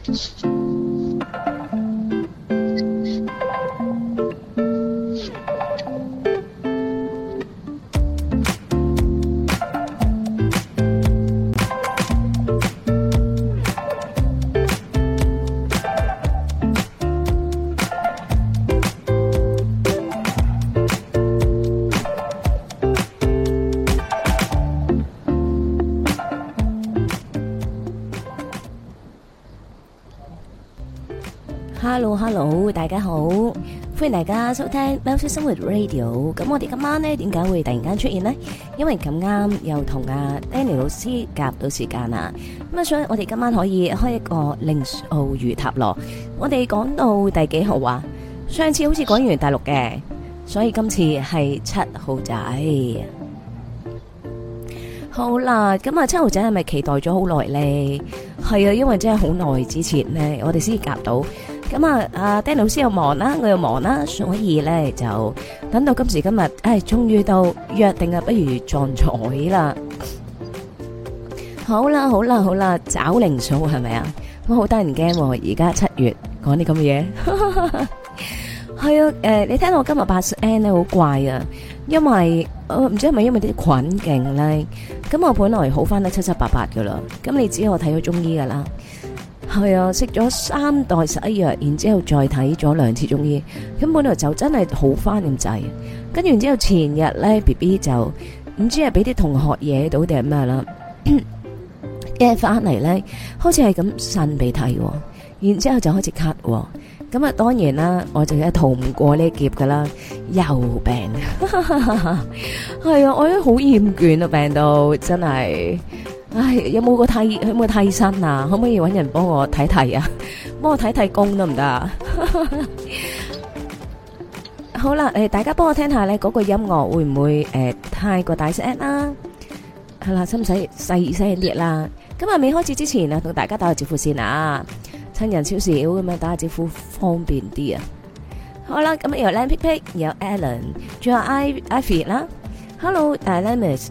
Hello，大家好，歡迎大家收聽《喵式生活 Radio》。咁我哋今晚呢，點解會突然間出現呢？因為咁啱又同阿 Danny 老師夾到時間啦。咁啊，所以我哋今晚可以開一個靈數魚塔羅。我哋講到第幾號啊？上次好似講完大陸嘅，所以今次係7號仔。好啦，咁啊，7號仔係咪期待咗好耐呢？係啊，因為真係好耐之前呢，我哋先夾到。咁啊，阿 Danny 老師又忙啦，我又忙啦，所以咧就等到今時今日，終於到約定啊，不如撞彩啦！好啦，找靈數係咪啊？我好得人驚喎，而家7月講啲咁嘅嘢，係啊，你聽到我今日把聲咧好怪啊，因為唔知係咪因為啲菌勁咧，咁我本來好翻得七七八八噶啦，咁你知我睇咗中醫噶啦。係啊，食咗3袋洗藥，然之後再睇咗2次中醫，咁本來就真係好翻咁滯。跟住然之後前日咧 BB 就唔知係俾啲同學惹到定係咩啦，一翻嚟咧開始係咁擤鼻涕，然之後就開始咳。咁啊，當然啦，我就係逃唔過呢劫噶啦，又病。係啊，我都好厭倦啊，病到真係。唉，有冇替身啊？可唔可以搵人幫我睇睇啊？幫我睇睇工得唔得啊？好啦，大家幫我聽下咧，嗰個音樂會唔會太過大聲啦？係啦，使唔使細聲啲啦？今日未開始之前啊，同大家打個招呼先啊，趁人少少咁樣打個招呼方便啲啊。好啦，咁有靚皮皮，有 Alan， 仲有 Ivy 啦。Hello，Alex。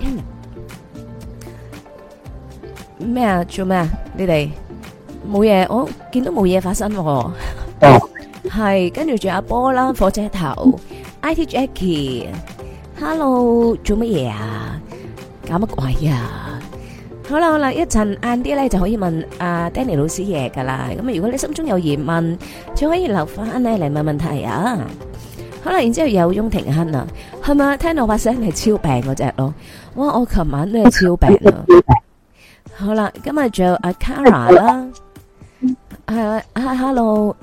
咩啊？做咩啊？你哋冇嘢，我見到冇嘢發生。哦，係跟住仲有阿波啦，火車頭 ，IT Jackie，Hello， 做乜嘢啊？搞乜鬼啊？好啦，一陣晏啲咧就可以問阿 Danny 老師嘢噶啦。咁啊，如果你心中有疑問，就可以留翻咧嚟問問題啊。好啦，然之後有翁廷亨啊，係咪聽到把聲係超病嗰隻咯？哇，我琴晚都係超病啊！好啦，今日仲有阿 Kara 啦，係Hello，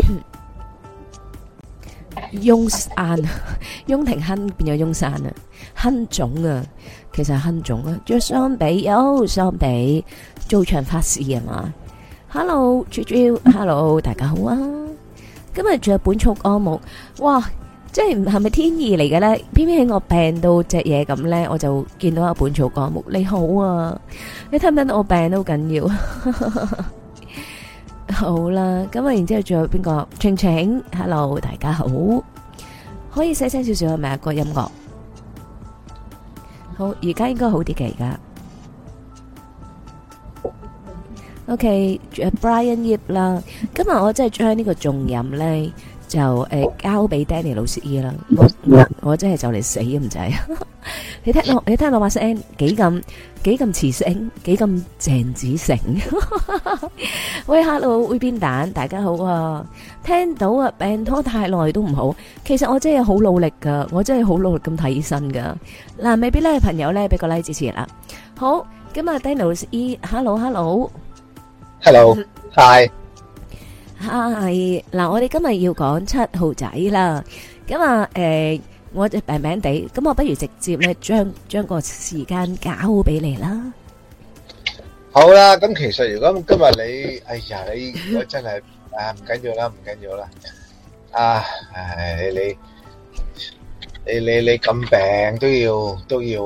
翁廷亨變咗翁山啊，亨總啊，其實係亨總啊，仲有雙比做場法事啊嘛 ，Hello，Hello， 大家好啊，今日仲有本草綱目，哇！即係係咪天意嚟嘅咧？偏偏喺我病到隻嘢咁咧，我就見到阿本草綱目。你好啊，你聽唔聽到我病都好緊要？好啦，咁啊，然之後仲有邊個？晴晴 ，Hello， 大家好，可以細聲少少係咪啊？個音樂好，而家應該好啲嘅而家。OK， 仲有 Brian Yip 啦，今日我真係將呢個重任咧。就交俾 Danny 老師醫啦，我真係就嚟死咁滯。你聽到把聲幾咁磁性，幾咁鄭子誠。喂 ，Hello， 會變蛋，大家好啊！聽到啊，病拖太耐都唔好。其實我真係好努力噶，我真係好努力咁睇醫生噶。嗱，未必咧朋友咧俾個 like 支持啦。好，咁啊 Danny 老師醫 ，Hello，Hi。 係嗱，我哋今日要講7號仔啦。咁啊，我就病病地，咁我不如直接咧將個時間交俾你啦。 好啦，咁其實如果今日你，哎呀，你如果真係唔緊要啦，唔緊要啦。你咁病都要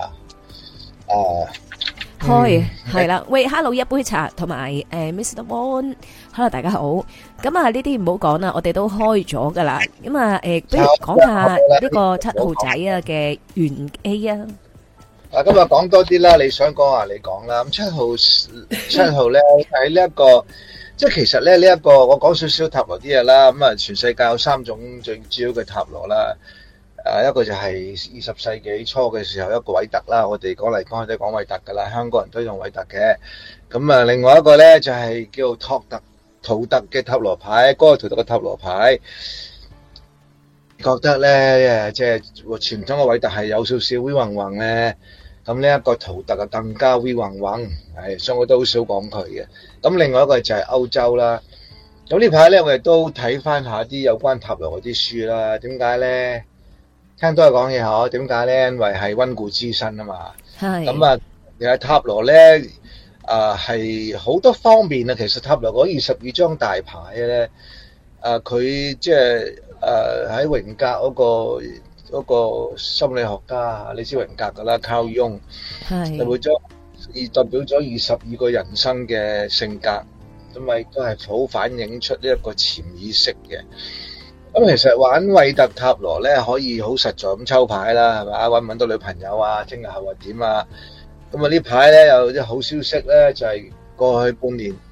開係啦，喂 ，Hello， 一杯茶同埋Mr. Won，Hello， 大家好。咁啊，呢啲唔好講啦，我哋都開咗噶啦。咁啊，不如講下呢個7號仔啊嘅玄機啊。 今日講多啲啦，你想講啊，你講啦。咁7號咧喺呢一個即係其實咧呢一個我講少少塔羅啲嘢啦。咁啊，全世界有3種最主要嘅塔羅啦。一個就係20世紀初嘅時候一個韋特啦，我哋講嚟講去都講韋特噶啦，香港人都用韋特嘅。咁啊，另外一個咧就係叫圖特嘅塔羅牌，嗰個圖特嘅塔羅牌，覺得咧即係傳統嘅韋特係有少少 V 暈暈咧，咁呢一個圖特啊更加 V 暈暈，係，所以我都好少講佢嘅。咁另外一個就係歐洲啦。咁呢排咧我哋都睇翻下啲有關塔羅嗰啲書啦。點解咧？聽多人講嘢嗬，點解咧？因為係溫故知新啊嘛。 係。 咁啊，其實塔羅咧，係好多方面啊。其實塔羅嗰22張大牌咧，佢即係喺榮格嗰個心理學家，你知榮格噶啦，Carl Jung， 係。 代表咗22個人生嘅性格，咁咪都係好反映出呢一個潛意識嘅。咁其實玩韋特塔羅咧，可以好實在咁抽牌啦，係咪？揾唔揾到女朋友啊？聽日後日點啊？咁啊呢排咧有啲好消息咧，就係過去半年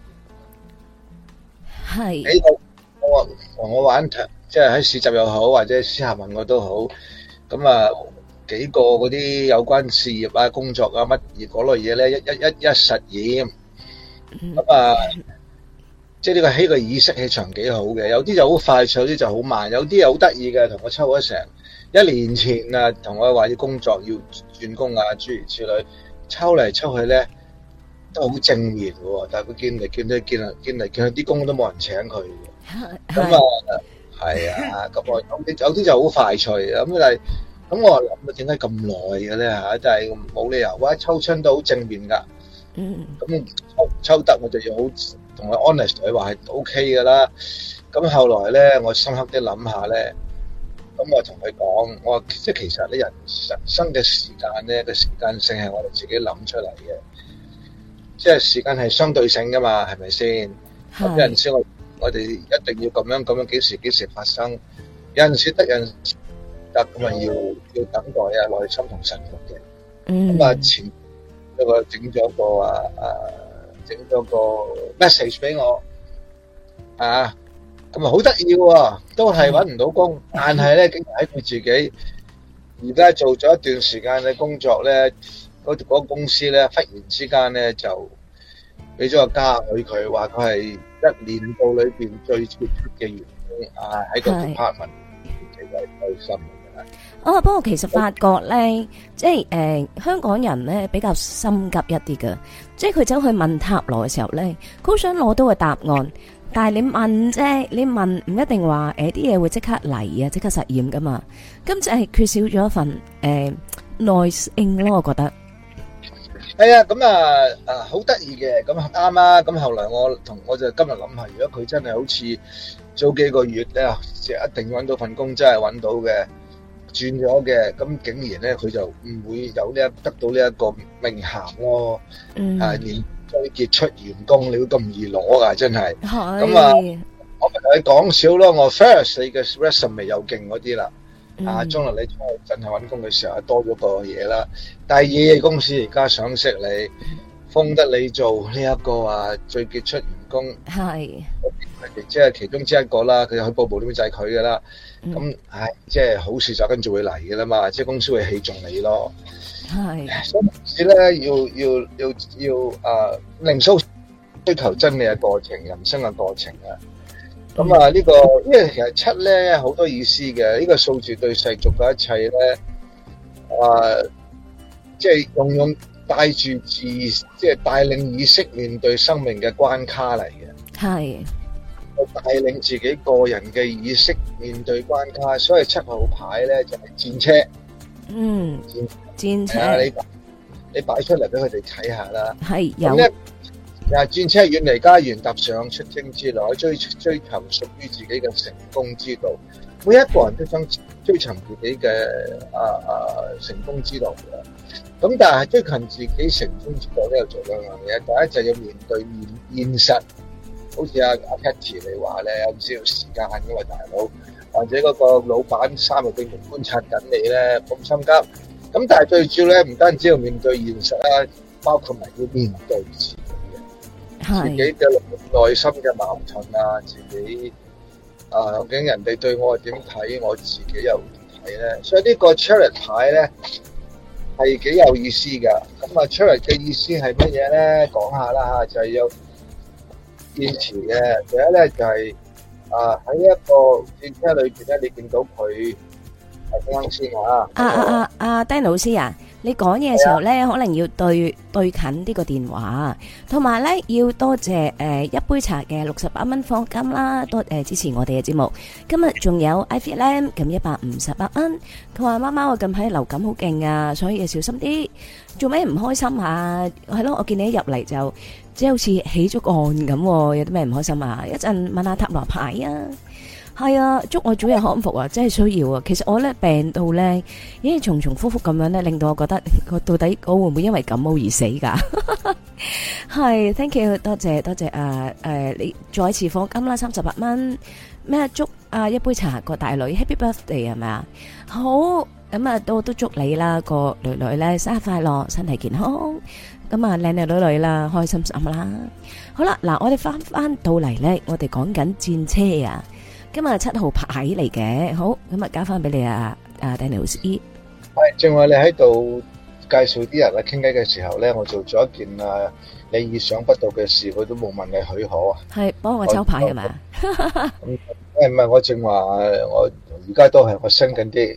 係喺度我玩即係喺市集又好，或者私下問我都好。咁啊幾個嗰啲有關事業啊、工作啊乜嘢嗰類嘢咧，一實驗。咁啊〜即係呢個起個意識氣場幾好嘅，有啲就好快，有啲就好慢，有啲又好得意嘅，同我抽咗成1年前啊，同我話要工作要轉工啊，諸如此類，抽嚟抽去咧都好正面喎，但係佢見嚟見去啲工都冇人請佢嘅，咁啊係啊，咁我有啲就好快脆，咁但係咁我諗點解咁耐嘅咧嚇？但係冇理由話抽親都好正面㗎，咁抽得我就要好。同佢 honest 佢話係 OK 噶啦，咁後來咧，我深刻啲諗下咧，咁我同佢講，我話即係其實咧人生嘅時間咧個時間性係我哋自己諗出嚟嘅，即係時間係相對性噶嘛，係咪先？有陣時我哋一定要咁樣幾時發生，有陣時得人得咁啊要等待啊耐心同臣服嘅，咁啊前一個整咗個整咗個 message 俾我，咁啊好得意喎，都係揾唔到工，但係咧竟然喺佢自己而家做咗一段時間嘅工作咧，嗰個公司咧忽然之間咧就俾咗個嘉許佢，話佢係1年度裏邊最傑出嘅員工喺個 department，其實係開心嘅。 不過其實發覺咧，即係香港人咧比較心急一啲㗎，即係佢走去問塔羅嘅時候咧，佢好想攞到個答案，但係你問啫，你問唔一定話啲嘢會即刻嚟啊，即刻實驗噶嘛，咁就係缺少咗一份耐性咯，我覺得。 係啊，咁好得意嘅，咁啱啊，咁後來我就今日諗下，如果佢真係好似早幾個月咧，即係一定揾到份工，真係揾到嘅。轉咗嘅，咁竟然咧佢就唔會有得到呢一個名銜咯。年最傑出員工，你會咁易攞噶，真係。咁啊，我咪同你講少咯。我 first 你嘅 resume 又勁嗰啲啦。將來你真係揾工嘅時候多咗個嘢啦。第二公司而家想識你，封得你做呢一個最傑出員工。係。即係其中之一個啦，佢去報部點就係佢噶啦。咁即係好事就跟住會嚟嘅啦嘛，即係公司會器重你咯。係，所以咧要靈數追求真理嘅過程，人生嘅過程啊。咁呢個因為其實7咧好多意思嘅，呢個數字對世俗嘅一切咧，即係用帶住即係帶領意識面對生命嘅關卡嚟嘅。係。帶領自己個人嘅意識面對關卡，所以7號牌咧就係戰車。戰車。你擺出嚟俾佢哋睇下啦。係有。戰車遠離家園，踏上出征之路，追求屬於自己嘅成功之道。每一個人都想追尋自己嘅成功之道嘅。咁但係追尋自己成功之道都有做兩樣嘢，第一就要面對現實。好似阿 Patty 你話咧，有唔少時間因為大佬，或者嗰個老闆3日定觀察緊你咧，咁心急。咁但係最主要咧，唔單止要面對現實啦，包括埋要面對自己嘅。 自己嘅內心嘅矛盾啊，自己究竟人哋對我係點睇，我自己又點睇咧？所以呢個 Chariot 牌咧係幾有意思㗎。咁啊 Chariot 嘅意思係乜嘢咧？講下啦嚇，就係有堅持嘅。第一咧就係喺一個戰車裏邊咧，你見到佢係啱先啊。 Danny 老師啊，你講嘢嘅時候咧，可能要對近呢個電話，同埋咧要多謝一杯茶嘅68蚊課金啦，多支持我哋嘅節目。今日仲有 Ivy Lam 咁158蚊，佢話媽媽我近排流感好勁啊，所以要小心啲。做咩唔開心啊？係咯，我見你一入嚟就即係好似起咗個案咁，有啲咩唔開心啊？一陣問下塔羅牌啊！係啊，祝我早日康復啊！真係需要啊！其實我咧病到咧，已經重重複複咁樣咧，令到我覺得我到底我會唔會因為感冒而死噶？係 ，thank you，多謝你再次課金啦，38蚊咩？祝一杯茶個大女 Happy Birthday 係咪啊？好咁啊，都祝你啦個女女咧生日快樂，身體健康，咁啊靚女啦，開心心啦。好啦，嗱我哋翻到嚟咧，我哋講緊戰車啊。今日7號牌嚟嘅，好咁啊，交翻俾你啊，Danny老師。係， 正話你喺度介紹啲人傾偈嘅時候咧，我做咗一件你意想不到嘅事，佢都冇問你許可啊。 係幫我抽牌係咪？ 唔係，我正話我而家都係我升緊啲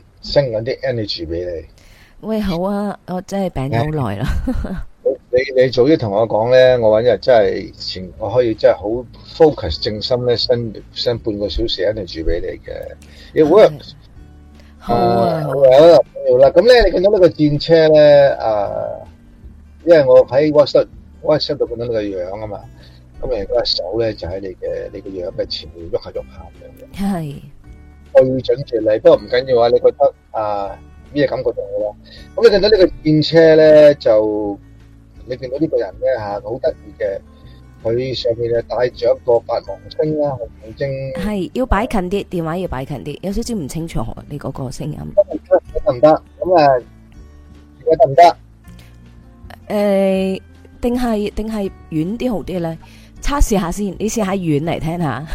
energy 俾你。 喂，好啊，我真係病咗好耐啦。 你早啲同我講咧，我搵日真係我可以真係好 focus 正心咧，伸半個小時 energy 俾你嘅。好啊，好啦，咁咧你見到呢個戰車咧，因為我喺 WhatsApp 度見到你個樣啊嘛，咁你個手咧就喺你個樣嘅前面喐下咁樣。 係。 對準住你，不過唔緊要啊，你覺得咩感覺到好啦？咁你見到呢個戰車咧就。你見到呢個人咧好得意嘅，佢上面帶住一個八芒星啦，紅晶。係要擺近啲，電話要擺近啲，有少少唔清楚你嗰個聲音。 得唔得？咁而家得唔得？ 定係遠啲好啲咧？測試下先，你試下遠嚟聽下。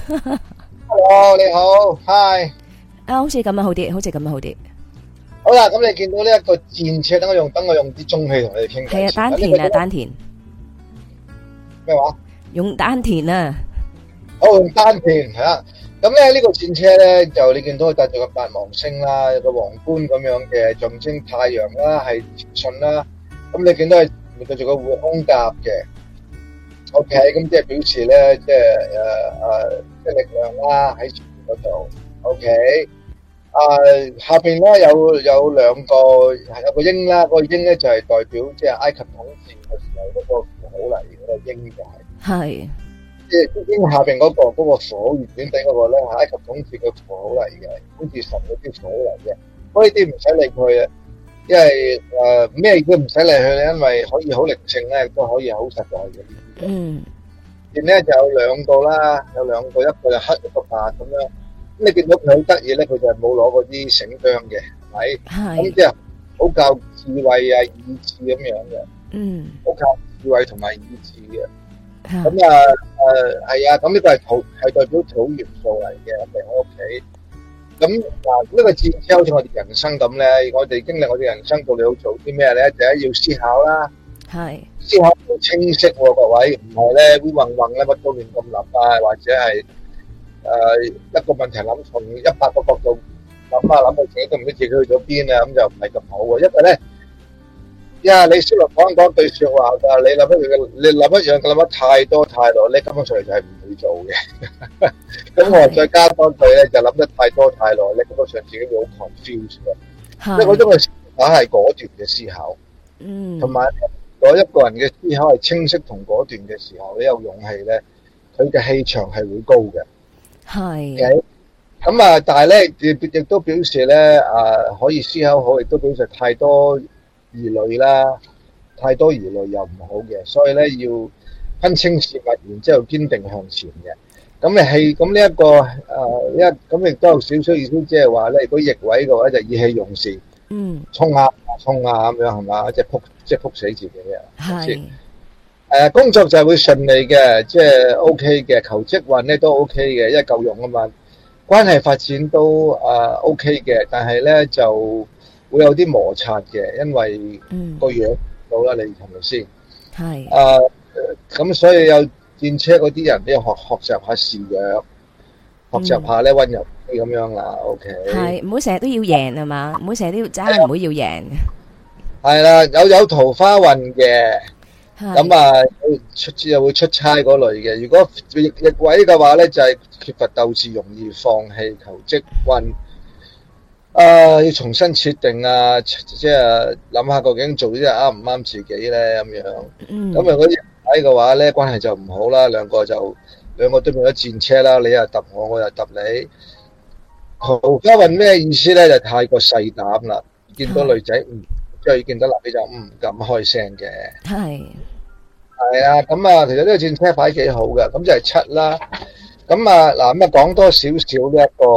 Hello，你好 ，Hi。 好似咁樣好啲，好似咁樣好啲。 好啦，咁你見到呢一個戰車，等我用啲中氣同你哋傾偈。 係啊，丹田啊，丹田。 咩話？ 用丹田啊。 用丹田係啦。咁咧呢個戰車咧，就你見到佢帶住個八芒星啦，有個皇冠咁樣嘅象徵太陽啦，係前進啦。咁你見到佢帶住個護胸甲嘅。OK，咁即係表示咧，即係力量啦喺前面嗰度。OK。下邊咧有兩個有個鷹啦，個鷹咧就係代表即係埃及統治嘅時候嗰個符號嚟嘅，個鷹就係即係鷹下邊嗰個火圓圈頂嗰個咧，係埃及統治嘅符號嚟嘅，統治神嗰啲符號嚟嘅。不過呢啲唔使理佢啊，因為咩都唔使理佢，因為可以好靈性咧，都可以好實在嘅。 嗯， 然咧就有兩個啦，有兩個，一個就黑一個白咁樣。咁你見到佢好得意咧，佢就係冇攞嗰啲繩韁嘅，係咪？係。咁即係好靠智慧啊、意志咁樣嘅。嗯。好靠智慧同埋意志嘅。咁係啊，咁呢個係代表土元素嚟嘅，喺我屋企。咁呢個戰車好似我哋人生咁咧，我哋經歷我哋人生到底要做啲咩咧？第一要思考啦。係。思考要清晰喎，各位，唔係咧會混混咧，乜都亂咁諗啊，或者係。一個問題諗從100個角度諗到自己都唔知自己去咗邊啊，咁就唔係咁好喎。因為咧，你先嚟講句說話㗎，你諗一樣諗得太多太耐，你根本上嚟就係唔會做嘅。咁我再加多句咧，就諗得太多太耐，你根本上自己會好 confuse 嘅。即係嗰種嘅思考係果斷嘅思考，同埋如果一個人嘅思考係清晰同果斷嘅時候，你有勇氣咧，佢嘅氣場係會高嘅。係，咁但係咧，亦都表示咧，可以思考好，亦都表示太多疑慮啦，太多疑慮又唔好嘅，所以咧要分清事物，然之後堅定向前嘅。咁咁呢一個咁亦都有少少意思，即係話咧，如果逆位嘅話就意氣用事，衝下咁樣係嘛，即係撲死自己啊。係。 工作就會順利嘅，即係 OK 嘅，求職運咧都 OK 嘅，因為夠用啊嘛。關係發展都OK 嘅，但係咧就會有啲摩擦嘅，因為個樣到啦，你係咪先？係。咁所以有戰車嗰啲人都要學習下示弱，學習下咧溫柔啲咁樣啦。OK。 係，唔好成日都要贏係嘛，唔好成日都要爭，唔好要贏。係啦，有桃花運嘅。咁又會出差嗰類嘅。如果逆位嘅話咧，就係缺乏鬥志，容易放棄求職運。要重新設定啊，即係諗下究竟做啲嘢啱唔啱自己咧咁樣。咁如果逆位嘅話咧，關係就唔好啦，兩個都變咗戰車啦，你又揼我，我又揼你。桃花運咩意思咧？就太過細膽啦，見到女仔即係見到男仔就唔敢開聲嘅。係啊，咁其實呢個戰車牌幾好嘅，咁就係7啦。咁講多少少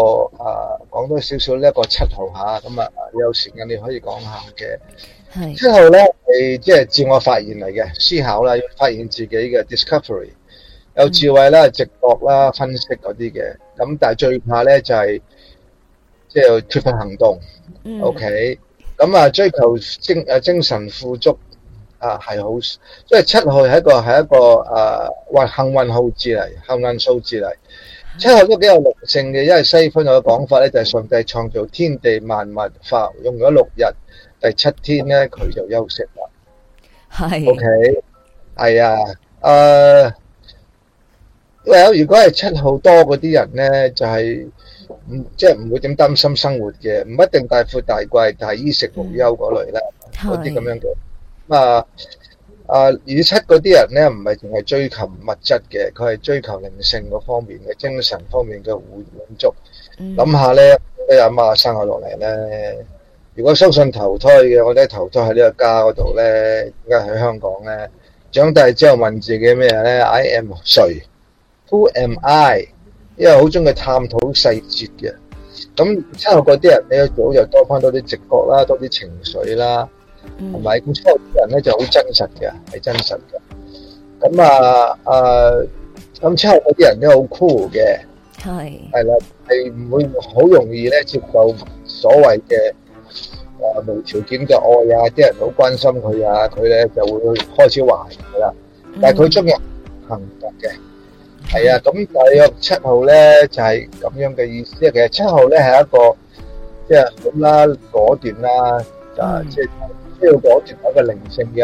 呢一個7號吓，咁有時間你可以講下嘅。7號咧係即係自我發現嚟嘅，思考啦，要發現自己嘅 discovery， 有智慧啦、直覺啦、分析嗰啲嘅。咁但係最怕咧就係即係缺乏行動。OK， 咁追求精神富足。係好，即係7號係一個幸運數字嚟，幸運數字嚟。7號都幾有靈性嘅，因為西方有個講法咧，就係上帝創造天地萬物，用咗6日，第7天咧佢就休息啦。係。OK， 係啊，如果係7號多嗰啲人咧，就係即係唔會點擔心生活嘅，唔一定大富大貴，但係衣食無憂嗰類啦，嗰啲咁樣嘅。7嗰啲人咧，唔係淨係追求物質嘅，佢係追求靈性嗰方面嘅，精神方面嘅滿足。諗下咧，阿媽生我落嚟咧，如果相信投胎嘅，我哋投胎喺呢個家嗰度咧，而家喺香港咧，長大之後問自己咩咧 ？I am 誰 ？Who am I？ 因為好中意探討細節嘅。咁7號嗰啲人咧，早就多翻多啲直覺啦，多啲情緒啦。同埋咁7號人咧就好真實嘅，係真實嘅。咁咁7號嗰啲人都好 cool 嘅，係啦，係唔會好容易咧接受所謂嘅無條件嘅愛啊，啲人好關心佢啊，佢咧就會開始懷疑啦。但係佢中意行動嘅，係啊。咁大約7號咧就係咁樣嘅意思。其實7號咧係一個即係咁啦，果斷啦，即係。呢個果斷係一個靈性嘅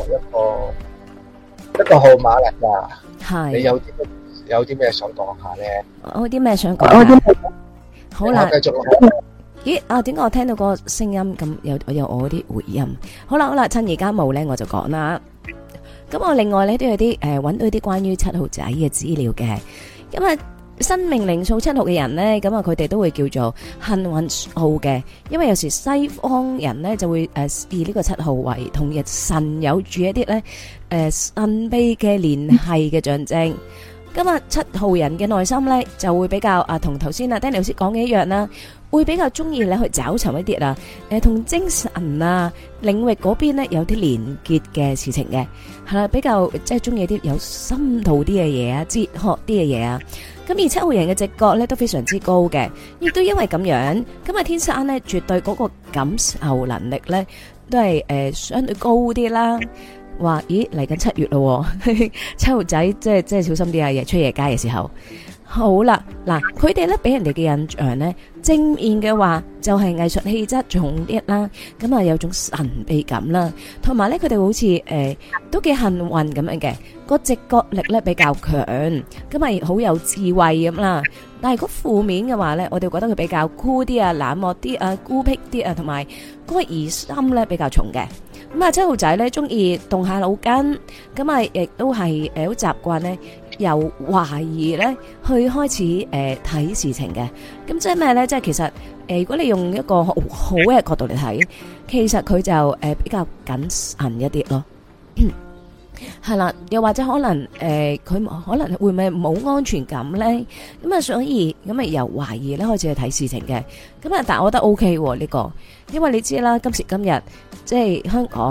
一個號碼嚟㗎。係。你有啲咩想講下咧？ 我有啲咩想講？好啦。繼續。咦？點解我聽到個聲音咁有我啲回音？好啦，趁而家冇咧，我就講啦。咁我另外咧都有啲揾到啲關於7號仔嘅資料嘅，因為生命靈數7號嘅人呢，咁佢哋都會叫做幸運號嘅，因為有時西方人呢就會以呢個7號為同日神有住一啲呢神秘嘅聯繫嘅象徵。咁7號人嘅內心呢，就會比較同頭先Danny老師講嘅一樣啦，會比較中意咧去找尋一啲同精神領域嗰邊呢有啲連結嘅事情嘅，係啦，比較即係中意啲有深度啲嘅嘢啊，哲學啲嘅嘢啊。咁而7號人嘅直覺咧都非常之高嘅，亦都因為咁樣，咁天生咧絕對嗰個感受能力咧都係相對高啲啦。話咦嚟緊7月咯，7號仔即係小心啲啊，夜出夜街嘅時候。好啦，嗱，佢哋咧俾人哋嘅印象咧正面嘅話就係藝術氣質重啲啦，咁有種神秘感啦，同埋咧佢哋好似都幾幸運咁樣嘅，個直覺力咧比較強，咁好有智慧咁啦。但係如果負面嘅話咧，我哋覺得佢比較酷啲啊、冷漠啲啊、孤僻啲啊，同埋嗰個疑心咧比較重嘅。咁7號仔咧中意動下腦筋，咁亦都係好習慣咧由懷疑咧去開始睇事情嘅。咁即係咩咧？即係其實如果你用一個好嘅角度嚟睇，其實佢就比較謹慎一啲咯。係啦，又或者可能佢可能會唔會冇安全感咧？咁所以咁由懷疑咧開始去睇事情嘅。咁但係我覺得 OK 呢個，因為你知啦，今時今日即係香港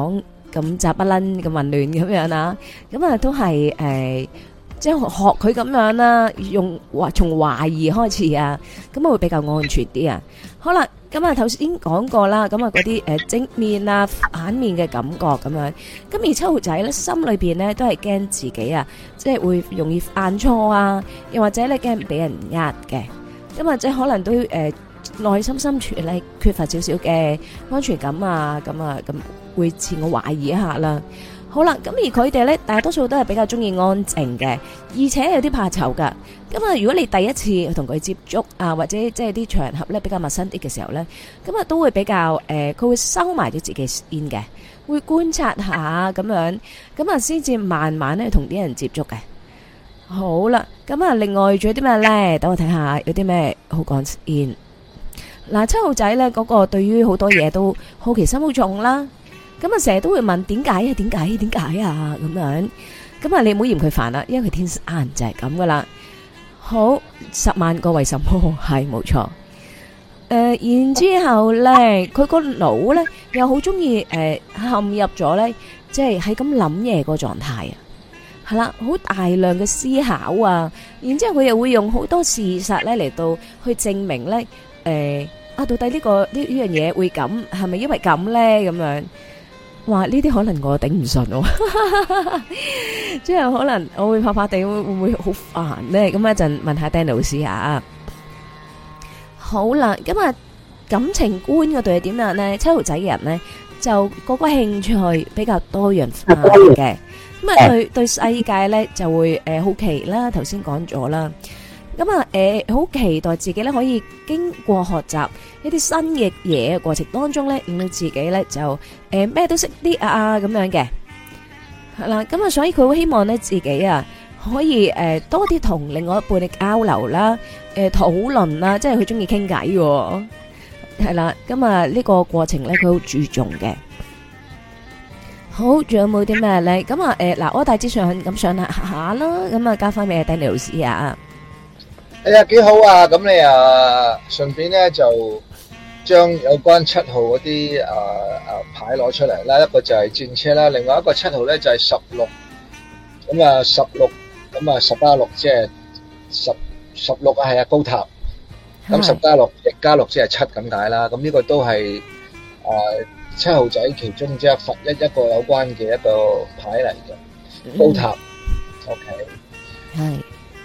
咁雜不楞咁混亂咁樣啦，咁啊都係即係學佢咁樣啦，從懷疑開始啊，咁啊會比較安全啲啊。好啦，咁啊頭先講過啦，咁啊嗰啲正面啊反面嘅感覺咁樣，咁而7號仔咧心裏邊咧都係驚自己啊，即係會容易犯錯啊，又或者咧驚俾人呃嘅，咁啊即係可能都內心深處咧缺乏少少嘅安全感啊，咁會自我懷疑一下啦。好啦，咁而佢哋咧大多數都係比較中意安靜嘅，而且有啲怕醜噶。咁啊，如果你第一次同佢接觸啊，或者即係啲場合咧比較陌生啲嘅時候咧，咁啊都會比較佢會收埋咗自己先嘅，會觀察下咁樣，咁啊先至慢慢咧同啲人接觸嘅。好啦，咁啊另外仲有啲咩咧？等我睇下有啲咩好講先。嗱，7號仔咧嗰個對於好多嘢都好奇心好重啦。咁啊，成日都會問點解啊？點解啊？咁樣，咁啊，你唔好嫌佢煩啦，因為佢天生就係咁噶啦。好，10萬個為什麼係冇錯。然之後咧，佢個腦咧又好中意陷入咗咧，即係喺咁諗嘢個狀態啊。係啦，好大量嘅思考啊。然之後佢又會用好多事實咧嚟到去證明咧，到底呢樣嘢會咁，係咪因為咁咧？咁樣。話呢啲可能我頂唔順喎，即係可能我會怕怕地，會唔會好煩呢？咁一陣問下 Danny 老師啊。好啦，咁啊感情觀嗰度係點樣呢？7號仔嘅人呢，就個興趣比較多元化嘅，咁啊對世界呢就會好奇啦，頭先講咗啦。咁啊，好期待自己咧可以經過學習一啲新嘅嘢嘅過程當中咧，令到自己咧就咩都識啲咁樣嘅，係啦。咁啊，所以佢好希望咧自己啊可以多啲同另外一半嘅交流啦，討論啦，即係佢中意傾偈嘅，係啦。咁啊呢個過程咧佢好注重嘅。好，仲有冇啲咩咧？咁啊嗱，我大致上咁上下啦，咁啊交翻俾 Danny 老師啊。 哎呀，幾好啊！咁你順便咧就將有關7號嗰啲牌攞出嚟啦。一個就係戰車啦，另外一個7號咧就係16。咁啊16，咁啊10加6即係16啊，係啊，高塔。咁10加6，亦加6即係7咁解啦。咁呢個都係7號仔其中一個有關嘅一個牌嚟嘅，高塔。OK。係。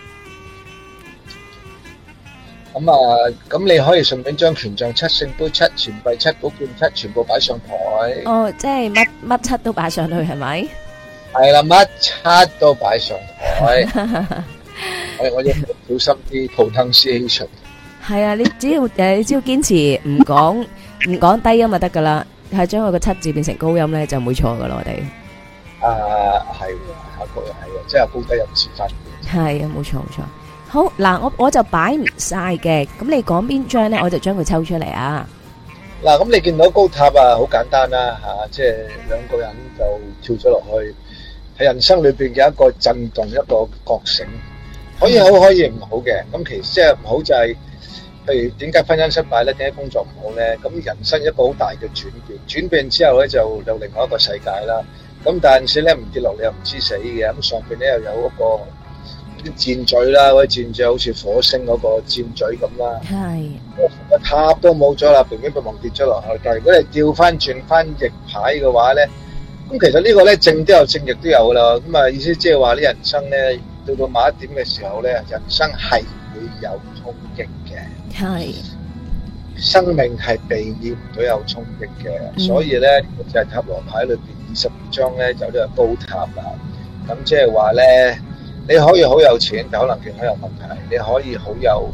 咁你可以順便將權杖7、聖杯7、錢幣7、寶劍7全部擺上台。 哦，即係乜7都擺上去係咪？ 係啦，乜7都擺上台。我要小心啲 pronunciation。係啊， 你只要堅持唔講低音就得噶啦，係將佢個7字變成高音咧就唔會錯噶啦，我哋。 係下個人係嘅，即係高低音詞法。 係啊，冇錯。好嗱，我就擺唔晒嘅，咁你講邊張咧，我就將佢抽出嚟啊。 嗱，咁你見到高塔好簡單啦吓，即係兩個人就跳咗落去，喺人生裏邊嘅一個震動，一個覺醒，可以好可以唔好嘅。咁其實即係唔好就係，譬如點解婚姻失敗咧，點解工作唔好咧？咁人生一個好大嘅轉變之後咧，就有另外一個世界啦。咁但係咧唔跌落嚟又唔知死嘅，咁上邊咧又有一個。啲箭嘴啦，嗰啲箭嘴好似火星嗰個箭嘴咁啦。係。個塔都冇咗啦，平平白白跌咗落去。但係如果你調翻轉翻逆牌嘅話咧，咁其實呢個咧正都有正，逆都有啦。咁啊意思即係話呢人生咧到某一點嘅時候咧，人生係會有衝擊嘅。係。生命係避免唔到有衝擊嘅，所以咧就係塔羅牌裏邊22張咧就呢個高塔啦。咁即係話咧。你可以好有錢，但可能健康有問題。你可以好有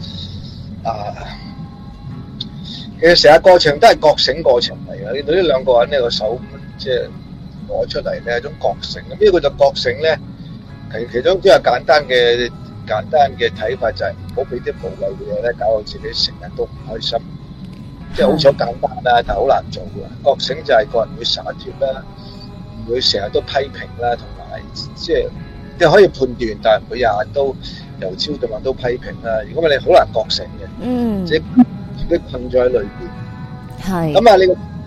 其實成個過程都係覺醒過程嚟嘅。你對呢兩個人呢個手即係攞出嚟咧，一種覺醒。咁呢個就覺醒咧，其中都有簡單嘅睇法，就係唔好俾啲無謂嘅嘢咧搞到自己成日都唔開心。即係好似好簡單啦，但係好難做嘅。覺醒就係個人會灑脫啦，唔會成日都批評啦，同埋即係。你可以判斷，但係唔會日日都由朝到晚都批評啦。如果你好難覺醒嘅，即係自己困咗喺裏邊。係。咁啊，你個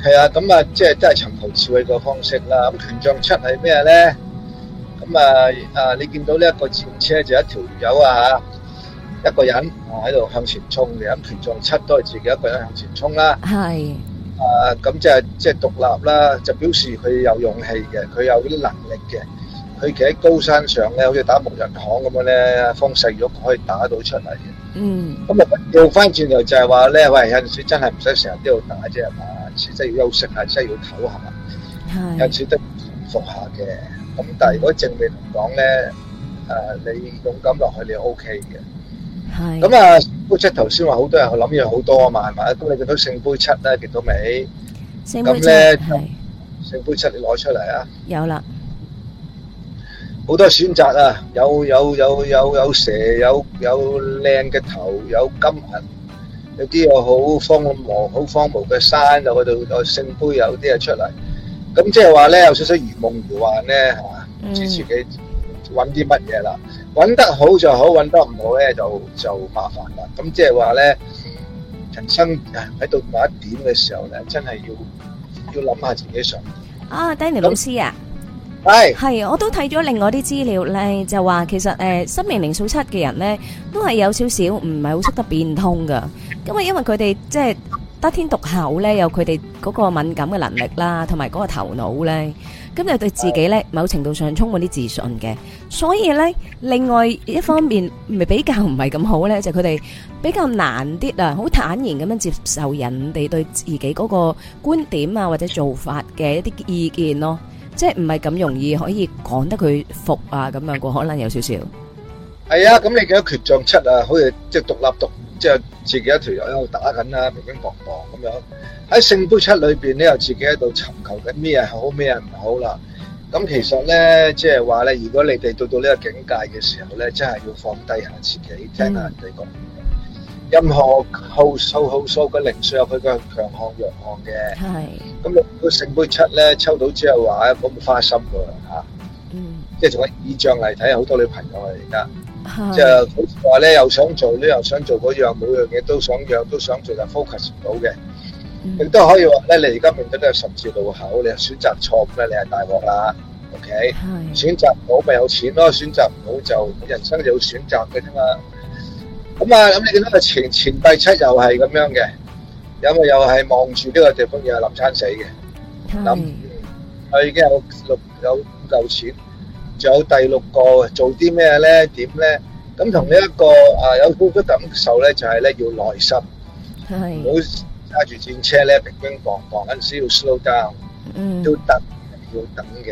係啊，咁啊，即係都係尋求智慧個方式啦。咁權杖七係咩咧？咁你見到呢一個戰車就一條友啊，一個人喺度向前衝嘅。咁權杖七都係自己一個人向前衝啦。 係。 咁即係獨立啦，就表示佢有勇氣嘅，佢有啲能力嘅。佢企喺高山上咧，好似打木人巷咁樣咧，風勢喐可以打到出嚟嘅。 嗯。 咁啊，調翻轉頭就係話咧，喂，有陣時真係唔使成日都要打啫，係嘛？有陣時真係要休息下，真係要唞下。有陣時都要服下嘅。咁但係如果正面嚟講咧，你勇敢落去，你 OK 嘅。係。咁啊，聖杯七頭先話好多人諗嘢好多啊嘛，係咪？咁你見到聖杯七咧，見到未？ 聖杯七係。 聖杯七你攞出嚟啊！ 有啦。 好多選擇啊！有蛇，有靚嘅頭，有金銀，有啲又好荒蕪嘅山，就嗰度有聖杯，有啲嘢出嚟。咁即係話咧，有少少如夢如幻咧，係嘛？唔知自己揾啲乜嘢啦。揾得好就好，揾得唔好咧就麻煩啦。咁即係話咧，人生喺到某一點嘅時候咧，真係要諗下自己想點。 啊，Danny 老師啊！係，我都睇咗另外啲資料咧，就話其實生命靈數7嘅人咧，都係有少少唔係好識得變通噶。咁啊，因為佢哋即係得天獨厚咧，有佢哋嗰個敏感嘅能力啦，同埋嗰個頭腦咧，咁就對自己咧某程度上充滿啲自信嘅。所以咧，另外一方面咪比較唔係咁好咧，就佢哋比較難啲啊，好坦然咁樣接受人哋對自己嗰個觀點啊或者做法嘅一啲意見咯。即係唔係咁容易可以講得佢服啊咁樣個，可能有少少。 係啊，咁你見到權杖七啊，好似即係獨立即係自己一條友喺度打緊啦，乒乒乓乓咁樣。喺聖杯七裏邊咧，又自己喺度尋求緊咩係好，咩係唔好啦。咁其實咧，即係話咧，如果你哋到呢個境界嘅時候咧，真係要放低下自己，聽下人哋講。任何號數嘅靈數有佢嘅強項弱項嘅。係。咁你個聖杯七咧抽到之後話咁花心㗎嚇。即係做緊意象嚟睇，好多女朋友啊而家。即係好似話咧，又想做呢，又想做嗰樣，每樣嘢都想做，但 focus 唔到嘅。亦都可以話咧，你而家面對呢個十字路口，你選擇錯誤咧，你係大鑊啦。OK。選擇唔好咪有錢咯，選擇唔好就人生就要選擇嘅啫嘛。咁你見到個前幣七又係咁樣嘅，又係望住呢個地方又係諗餐死嘅，諗佢已經有5嚿錢，仲有第6個做啲咩咧？點咧？咁同呢一個有好多感受咧，就係咧要耐心，唔好揸住戰車咧乒乒乓乓，嗰陣時要 slow down，要等嘅。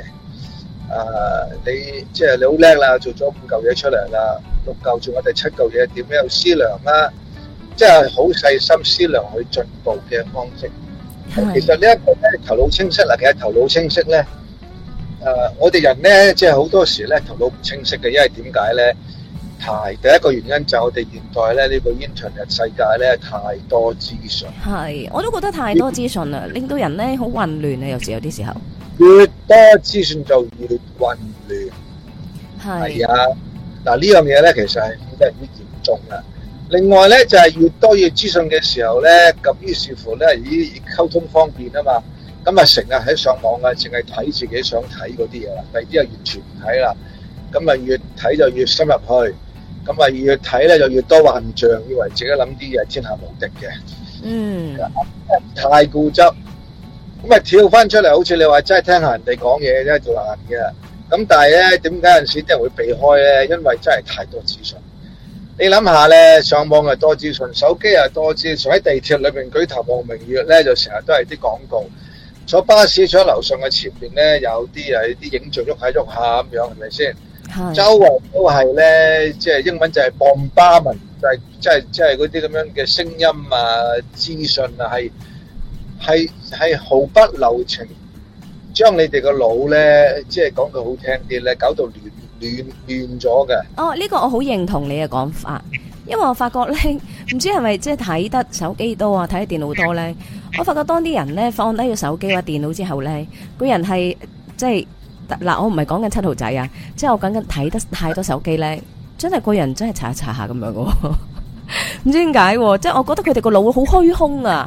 你即係你好叻啦，做咗5嚿嘢出嚟啦，6嚿仲有第7嚿嘢，點樣有思量啦？即係好細心思量去進步嘅方式。其實呢一個咧頭腦清晰啦，其實頭腦清晰咧，我哋人咧即係好多時咧頭腦唔清晰嘅，因為點解咧？第一個原因就係我哋現代咧呢個 internet 世界咧太多資訊。係，我都覺得太多資訊啦，令到人咧好混亂啊！有啲時候。越多資訊就越混亂，係啊！嗱呢樣嘢咧，其實係越嚟越嚴重啦。另外咧，就係越多嘅資訊嘅時候咧，咁於是乎咧，以溝通方便啊嘛，咁啊成日喺上網啊，淨係睇自己想睇嗰啲嘢啦，第二啲啊完全唔睇啦。咁啊越睇就越深入去，咁啊越睇咧就越多幻象，以為自己諗啲嘢天下無敵嘅。太固執。咁啊跳翻出嚟，好似你話真係聽下人哋講嘢真係做難嘅。咁但係咧，點解有陣時啲人會避開咧？因為真係太多資訊。你諗下咧，上網又多資訊，手機又多資訊，喺地鐵裏邊舉頭望明月咧，就成日都係啲廣告。坐巴士坐喺樓上嘅前邊咧，有啲影像喐下喐下咁樣，係咪先？周圍都係咧，即係英文就係 bombardment，就係即係嗰啲咁樣嘅聲音啊、資訊啊，係毫不留情，將你哋個腦咧，即係講句好聽啲咧，搞到亂咗嘅。哦，呢個我好認同你嘅講法，因為我發覺咧，唔知係咪即係睇得手機多啊，睇得電腦多咧，我發覺當啲人咧放低個手機或電腦之後咧，個人係即係嗱，我唔係講緊7號仔啊，即係我講緊睇得太多手機咧，真係個人真係查下咁樣嘅，唔知點解，即係我覺得佢哋個腦好虛空啊。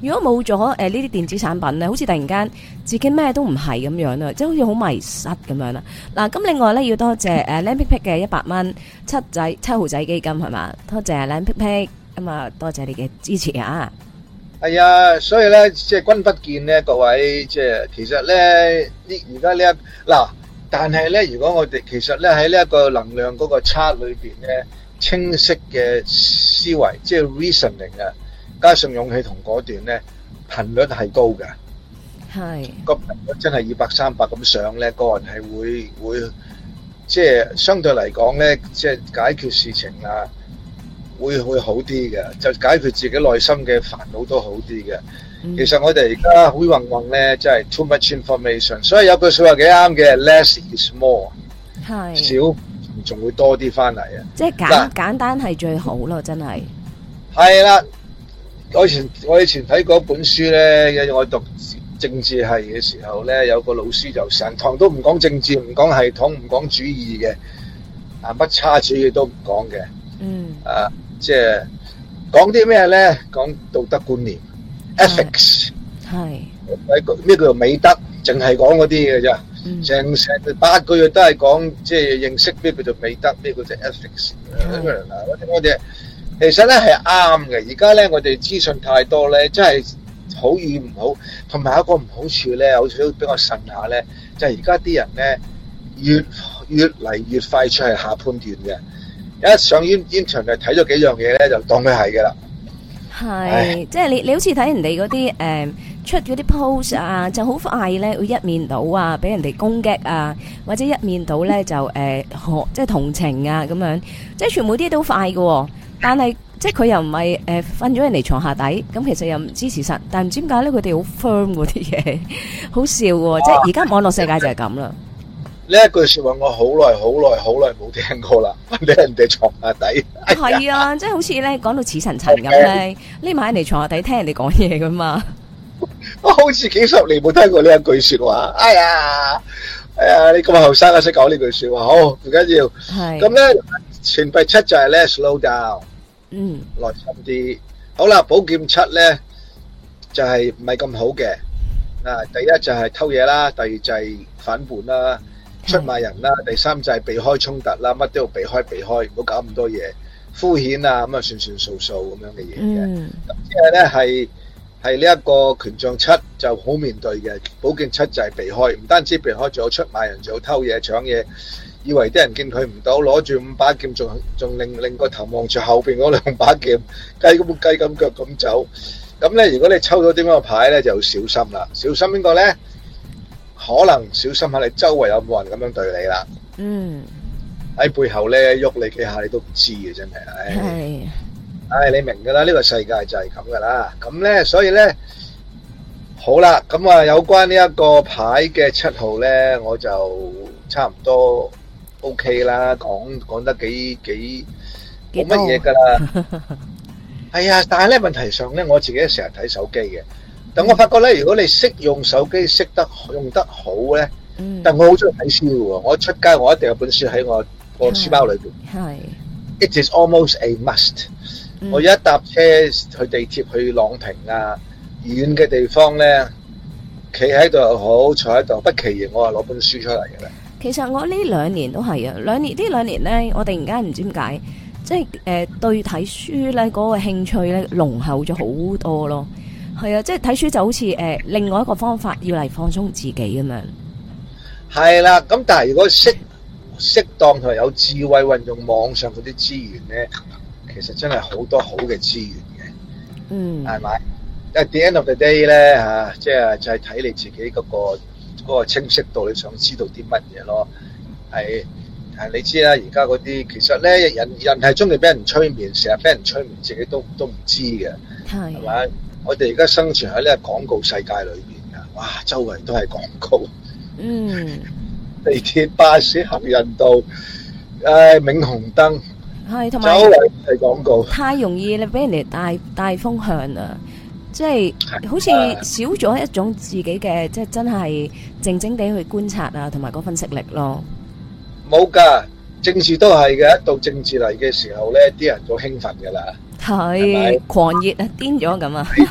如果冇咗呢啲電子產品咧，好似突然間自己咩都唔係咁樣啊，即係好似好迷失咁樣啦。嗱，咁另外咧要多謝靚皮皮嘅100蚊七號仔基金係嘛，多謝靚皮皮咁啊，多謝你嘅支持啊！ 係啊，所以咧，即係君不見咧，各位，即係其實咧，而家呢一嗱，但係咧，如果我哋其實咧喺呢一個能量嗰個 chart 裏邊咧，清晰嘅思維，即係 reasoning 啊，加上勇氣同果斷咧，頻率係高嘅， 係個頻率真係200、300咁上咧，個人係會即係相對嚟講咧，即係解決事情啊。會好啲嘅，就解決自己內心嘅煩惱都好啲嘅。其實我哋而家好混混咧，真係 too much information， 所以有句說話幾啱嘅 ，less is more， 係少仲會多啲翻嚟啊！ 即係簡單係最好咯，真係。 係啦，我以前睇過一本書咧，我讀政治系嘅時候咧，有個老師就成堂都唔講政治，唔講系統，唔講主義嘅，乜差主義都唔講嘅。即係講啲咩咧？講道德觀念 ethics， 係咩叫做美德？淨係講嗰啲嘅啫。成8個月都係講，即係認識咩叫做美德，咩叫做 ethics。我哋其實咧係啱嘅。而家咧我哋資訊太多咧，真係好與唔好。同埋一個唔好處咧，好似都比較慎下咧，就係而家啲人咧越嚟越快出係下判斷嘅。一上 internet 睇咗幾樣嘢咧，就當佢係嘅啦。 係，即係你好似睇人哋嗰啲出嗰啲 post 啊，就好快咧會一面倒啊，俾人哋攻擊啊，或者一面倒咧就即係同情啊咁樣，即係全部啲都快嘅。但係即係佢又唔係瞓咗人哋床下底，咁其實又唔知事實，但係唔知點解咧佢哋好 firm 嗰啲嘢，好笑喎。即係而家網絡世界就係咁啦。 呢一句說話我好耐冇聽過啦，瞓喺人哋床下底。 係啊，即係好似咧講到似層層咁咧，匿埋人哋床下底聽人哋講嘢噶嘛。 我好似幾十年冇聽過呢一句說話。哎呀，你咁後生啊，識講呢句說話，好唔緊要。係咁咧，錢幣7就係咧 slow down，耐心啲。好啦，寶劍7咧就係唔係咁好嘅。第一就係偷嘢啦，第二就係反叛啦。出賣人啦，第三就係避開衝突啦，乜都要避開，唔好搞咁多嘢，敷衍啊咁啊算數咁樣嘅嘢嘅。咁即係咧係呢一個權杖7就好面對嘅，寶劍7就係避開，唔單止避開，仲有出賣人，仲有偷嘢搶嘢，以為啲人見佢唔到，攞住5把劍，仲令個頭望住後邊嗰2把劍，雞咁腳咁走。咁咧，如果你抽到點樣嘅牌咧，就要小心啦。小心邊個咧？可能小心下你周圍有冇人咁樣對你啦。喺背後咧喐你幾下，你都唔知嘅，真係。你明噶啦，呢個世界就係咁噶啦。咁咧，所以咧，好啦，咁啊，有關呢一個牌嘅7號咧，我就差唔多 OK 啦，講得幾冇乜嘢噶啦。係啊，但係咧問題上咧，我自己成日睇手機嘅。但我發覺咧，如果你識用手機，識得用得好咧，但我好中意睇書嘅喎。我出街我一定有本書喺我書包裏邊。係，it is almost a must。我一搭車去地鐵去朗屏啊，遠嘅地方咧，企喺度又好，坐喺度，不其然我係攞本書出嚟嘅啦。其實我呢2年都係啊，呢兩年咧，我突然間唔知點解，即係對睇書咧嗰個興趣咧濃厚咗好多咯。係啊，即係睇書就好似另外一個方法，要嚟放鬆自己咁樣。 係啦，咁但係如果適當同埋有智慧運用網上嗰啲資源咧，其實真係好多好嘅資源嘅。係咪？At the end of the day 咧嚇，即係就係睇你自己嗰個清晰度，你想知道啲乜嘢咯？係你知啦，而家嗰啲其實咧，人係中意俾人催眠，成日俾人催眠，自己都唔知嘅。係咪？我哋而家生存喺呢個廣告世界裏邊噶，哇，周圍都係廣告。地鐵、巴士、行人道，霓虹燈，係同埋周圍係廣告。太容易你俾人哋帶風向啦，即係好似少咗一種自己嘅，即係真係靜靜地去觀察啊，同埋嗰分析力咯。冇噶，政治都係嘅，一到政治嚟嘅時候咧，啲人就興奮噶啦。係狂熱啊，癲咗咁啊！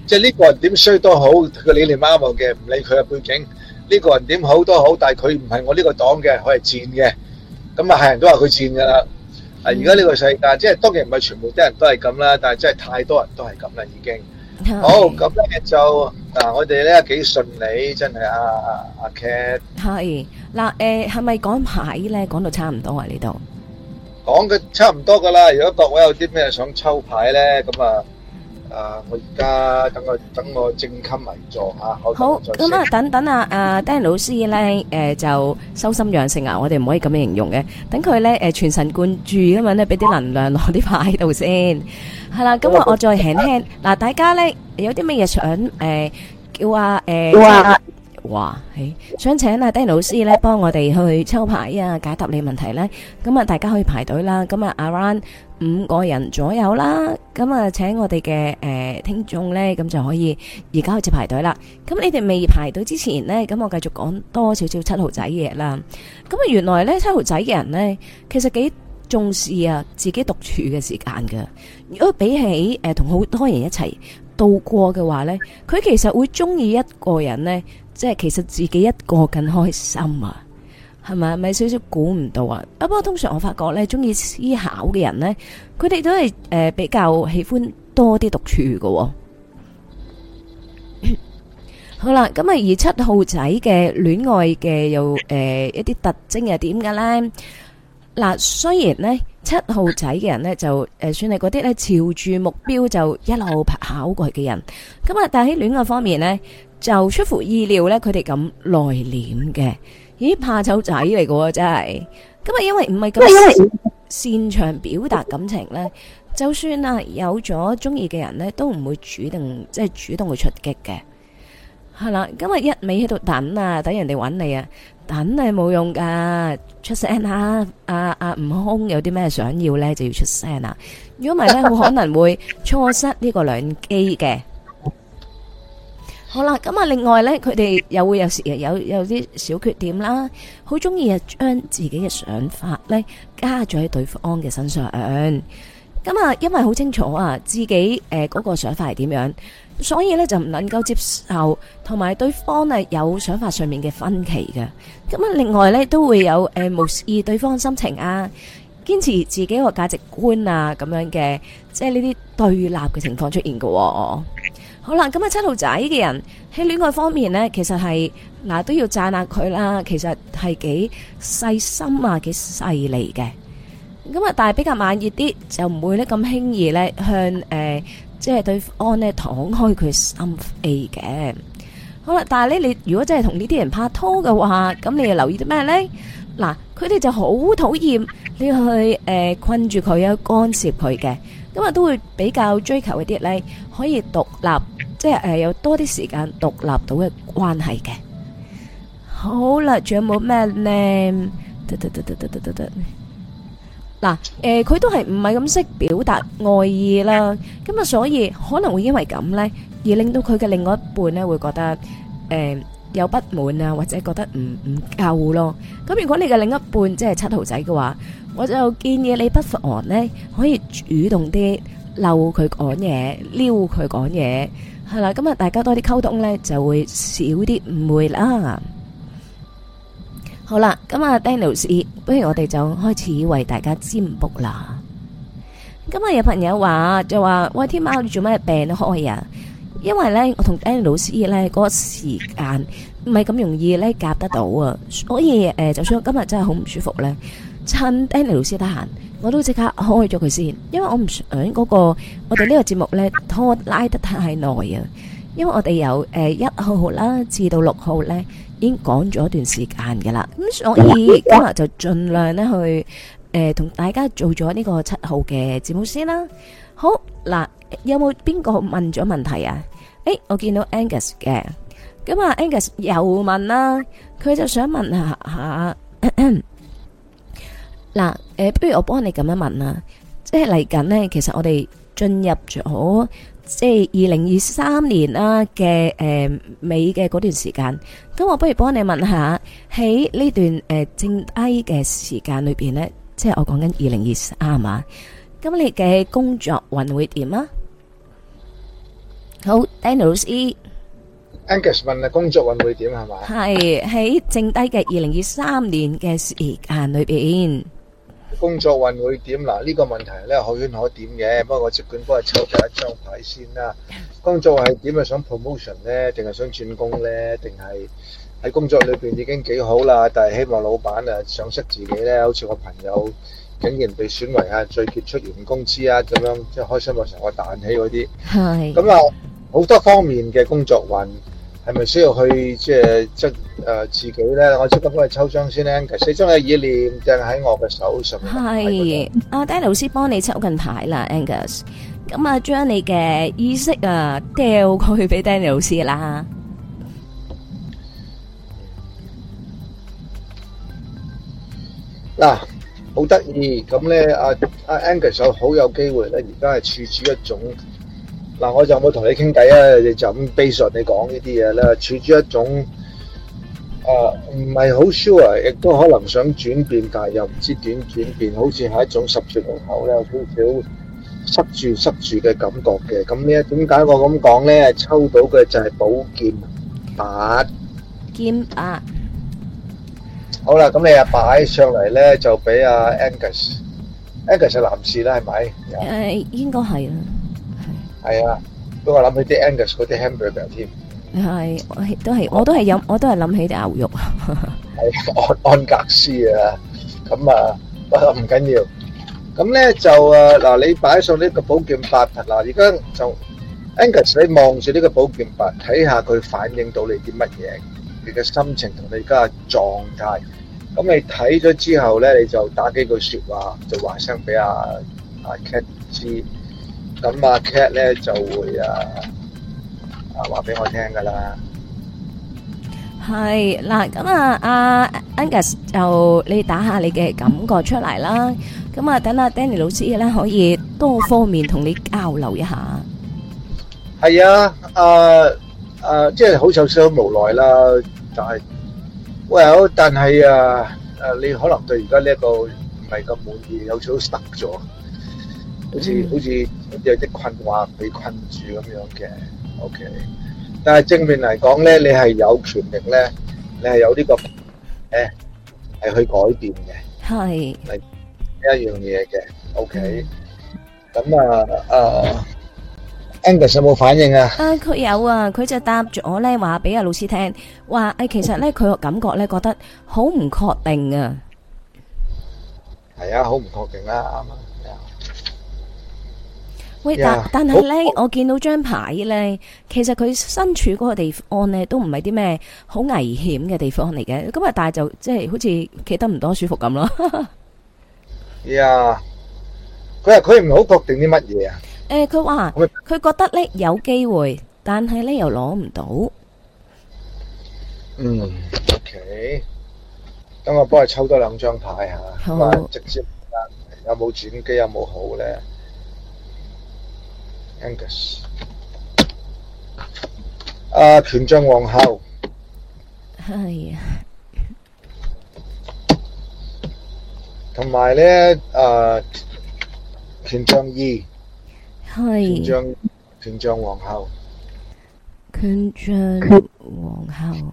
即係呢個人點衰都好，佢個理念啱我嘅，唔理佢嘅背景。呢個人點好都好，但係佢唔係我呢個黨嘅，佢係賤嘅。咁啊，係人都話佢賤㗎啦。而家呢個世界，即係當然唔係全部啲人都係咁啦，但係真係太多人都係咁啦，已經。好，咁咧就我哋咧幾順利，真係阿 Cat。 係嗱，係咪講牌咧？講到差唔多啊，呢度講嘅差唔多噶啦。如果各位有啲咩想抽牌咧，咁我而家等我正襟危坐嚇。 好，咁啊，等阿 Danny 老師咧，就修心養性啊，我哋唔可以咁樣形容嘅。等佢咧，全神貫注咁樣咧，俾啲能量落啲牌度先。係啦，咁我再輕輕嗱，大家咧有啲咩嘢想叫想請阿 Danny 老師咧幫我哋去抽牌啊，解答你問題咧。咁啊，大家可以排隊啦。咁啊，around 5個人左右啦。咁啊，請我哋嘅聽眾咧，咁就可以而家開始排隊啦。咁你哋未排隊之前咧，咁我繼續講多少少七號仔嘅嘢啦。咁啊，原來咧七號仔嘅人咧，其實幾重視啊自己獨處嘅時間㗎。如果比起同好多人一齊度過嘅話咧，佢其實會中意一個人咧。即係其實自己一個更開心啊，係咪少少估唔到啊？不過通常我發覺咧，中意思考嘅人咧，佢哋都係比較喜歡多啲獨處嘅喎。好啦，咁啊，而七號仔嘅戀愛嘅又一啲特徵係點嘅咧？嗱，雖然咧七號仔嘅人咧就算係嗰啲咧朝住目標就一路跑過去嘅人，咁啊，但係喺戀愛方面咧。就出乎意料咧，佢哋咁內斂嘅，咦，怕醜仔嚟嘅喎，真係。咁啊，因為唔係咁擅長表達感情咧，就算啊有咗中意嘅人咧，都唔會主動去出擊嘅。係啦，咁啊一味喺度等啊，等人哋揾你啊，等係冇用噶，出聲啊！悟空有啲咩想要咧，就要出聲啊！如果唔係咧，好可能會錯失呢個良機嘅。好啦，咁啊，另外咧，佢哋又會有時有啲小缺點啦，好中意啊將自己嘅想法咧加咗喺對方嘅身上。咁啊，因為好清楚啊自己嗰個想法係點樣，所以咧就唔能夠接受同埋對方啊有想法上面嘅分歧嘅。咁啊，另外咧都會有無視對方心情啊，堅持自己個價值觀啊咁樣嘅，即係呢啲對立嘅情況出現嘅。好啦，咁啊七號仔嘅人喺戀愛方面呢，其實係都要讚下佢啦。其實係幾細心啊，幾細膩嘅。咁啊，但係比較慢熱啲，就唔會咧咁輕易咧向即係對方咧敞開佢心扉嘅。好啦，但係咧你如果真係同呢啲人拍拖嘅話，咁你又留意啲咩呢？嗱，佢哋就好討厭你去困住佢啊，干涉佢嘅。咁啊，都會比較追求一啲咧可以獨立，即係有多啲時間獨立到嘅關係嘅。好啦，仲有冇咩呢？嗱，佢都係唔係咁識表達愛意啦。咁啊，所以可能會因為咁呢，而令到佢嘅另外一半呢會覺得有不滿啊，或者覺得唔夠咯。咁如果你嘅另一半即係七號仔嘅話，我就建議你不妨呢可以主動啲溜佢講嘢，撩佢講嘢，係啦。咁啊，大家多啲溝通呢，就會少啲誤會啦。好啦，咁啊 Daniel， 不如我哋就開始為大家占卜啦。咁啊，有朋友就話喂，天喵你做咩病開啊？因為呢，我同 Daniel 老師呢嗰個時間唔係咁容易呢夾得到啊，所以就算我今日真係好唔舒服呢，趁 Danny 老師得閒，我都即刻開咗佢先，因為我唔想嗰個我哋呢個節目呢拖拉得太耐啊。因為我哋由1號啦至到6號呢已經講咗一段時間㗎啦，咁所以今日就盡量呢去同大家做咗呢個7號嘅節目先啦。好嗱，有冇邊個問咗問題啊？我見到 Angus 嘅，咁啊 Angus 又問啦，佢就想問下嗱，不如我幫你咁樣問啦，即係嚟緊呢，其實我哋進入咗即係2023年啦嘅尾嘅嗰段時間，咁我不如幫你問下喺呢段剩低嘅時間裏邊呢，即係我講緊2023嘛，咁你嘅工作運會點啊？ 好，Danny 老師 Angus 問啊，工作運會點係嘛？ 係喺剩低嘅2023年嘅時間裏邊， 工作運會點嗱？呢個問題咧可圈可點嘅，不過我即管幫佢抽第一張牌先啦。工作係點啊？想 promotion 咧，定係想轉工咧，定係喺工作裏邊已經幾好啦，但係希望老闆啊賞識自己咧，好似我朋友竟然被選為係最傑出員工之一咁樣，即係開心到成個彈起嗰啲。 係咁啊，好多方面嘅工作運係咪需要去即係自己咧？我即刻幫你抽張先咧。4張嘅意念掟喺我嘅手上。 係阿 Danny 老師幫你抽緊牌啦 ，Angus。咁啊，將你嘅意識啊掉過去俾 Danny 老師啦。 嗱，好得意咁咧，阿 Angus 好有機會咧，而家係處住一種嗱，我就冇同你傾偈啊，你就咁 base on你講呢啲嘢啦，處住一種唔係好 sure，亦都可能想轉變，但係又唔知點轉變，好似係一種十字路口咧，有少少塞住嘅感覺嘅。咁呢，點解我咁講咧？抽到嘅就係寶劍8。 劍8。 好啦，咁你啊擺上嚟咧，就俾阿 Angus 係男士啦，係咪？ 應該係啦。 係啊，不過諗起啲 Angus 嗰啲 hamburger 添。 係，我都係諗起啲牛肉。 係安格斯啊，咁啊唔緊要。咁咧就嗱，你擺上呢個寶劍8嗱，而家就 Angus 你望住呢個寶劍8，睇下佢反映到你啲乜嘢，你嘅心情同你而家嘅狀態。咁你睇咗之後咧，你就打幾句説話，就話聲俾阿 Cat 知。咁阿 Cat 咧就會話俾我聽噶啦。 係嗱，咁阿 Angus 就你打下你嘅感覺出嚟啦。咁啊，等阿 Danny 老師咧可以多方面同你交流一下。 係啊，即係好有少少無奈啦，但係但係你可能對而家呢一個唔係咁滿意，有少少 stuck 咗，好似有啲困惑被困住咁樣嘅。OK， 但係正面嚟講咧，你係有權力咧，你係有呢個係去改變嘅， 係呢一樣嘢嘅。OK，咁Angus 有冇反應啊？ 佢有啊，佢就答咗咧，話俾阿老師聽，話其實咧佢個感覺咧覺得好唔確定啊。 係啊，好唔確定啦，啱啊。 喂，但係咧，我見到張牌咧，其實佢身處嗰個地方咧，都唔係啲咩好危險嘅地方嚟嘅。咁啊，但係就即係好似企得唔多舒服咁咯。 呀，佢唔係好確定啲乜嘢啊？ 佢話佢覺得咧有機會，但係咧又攞唔到。 OK，等我幫佢抽多2張牌吓，咁直接有冇轉機有冇好咧 ？Angus，權杖皇后， 係啊， 同埋咧權杖2。 係權杖皇后， 權杖皇后，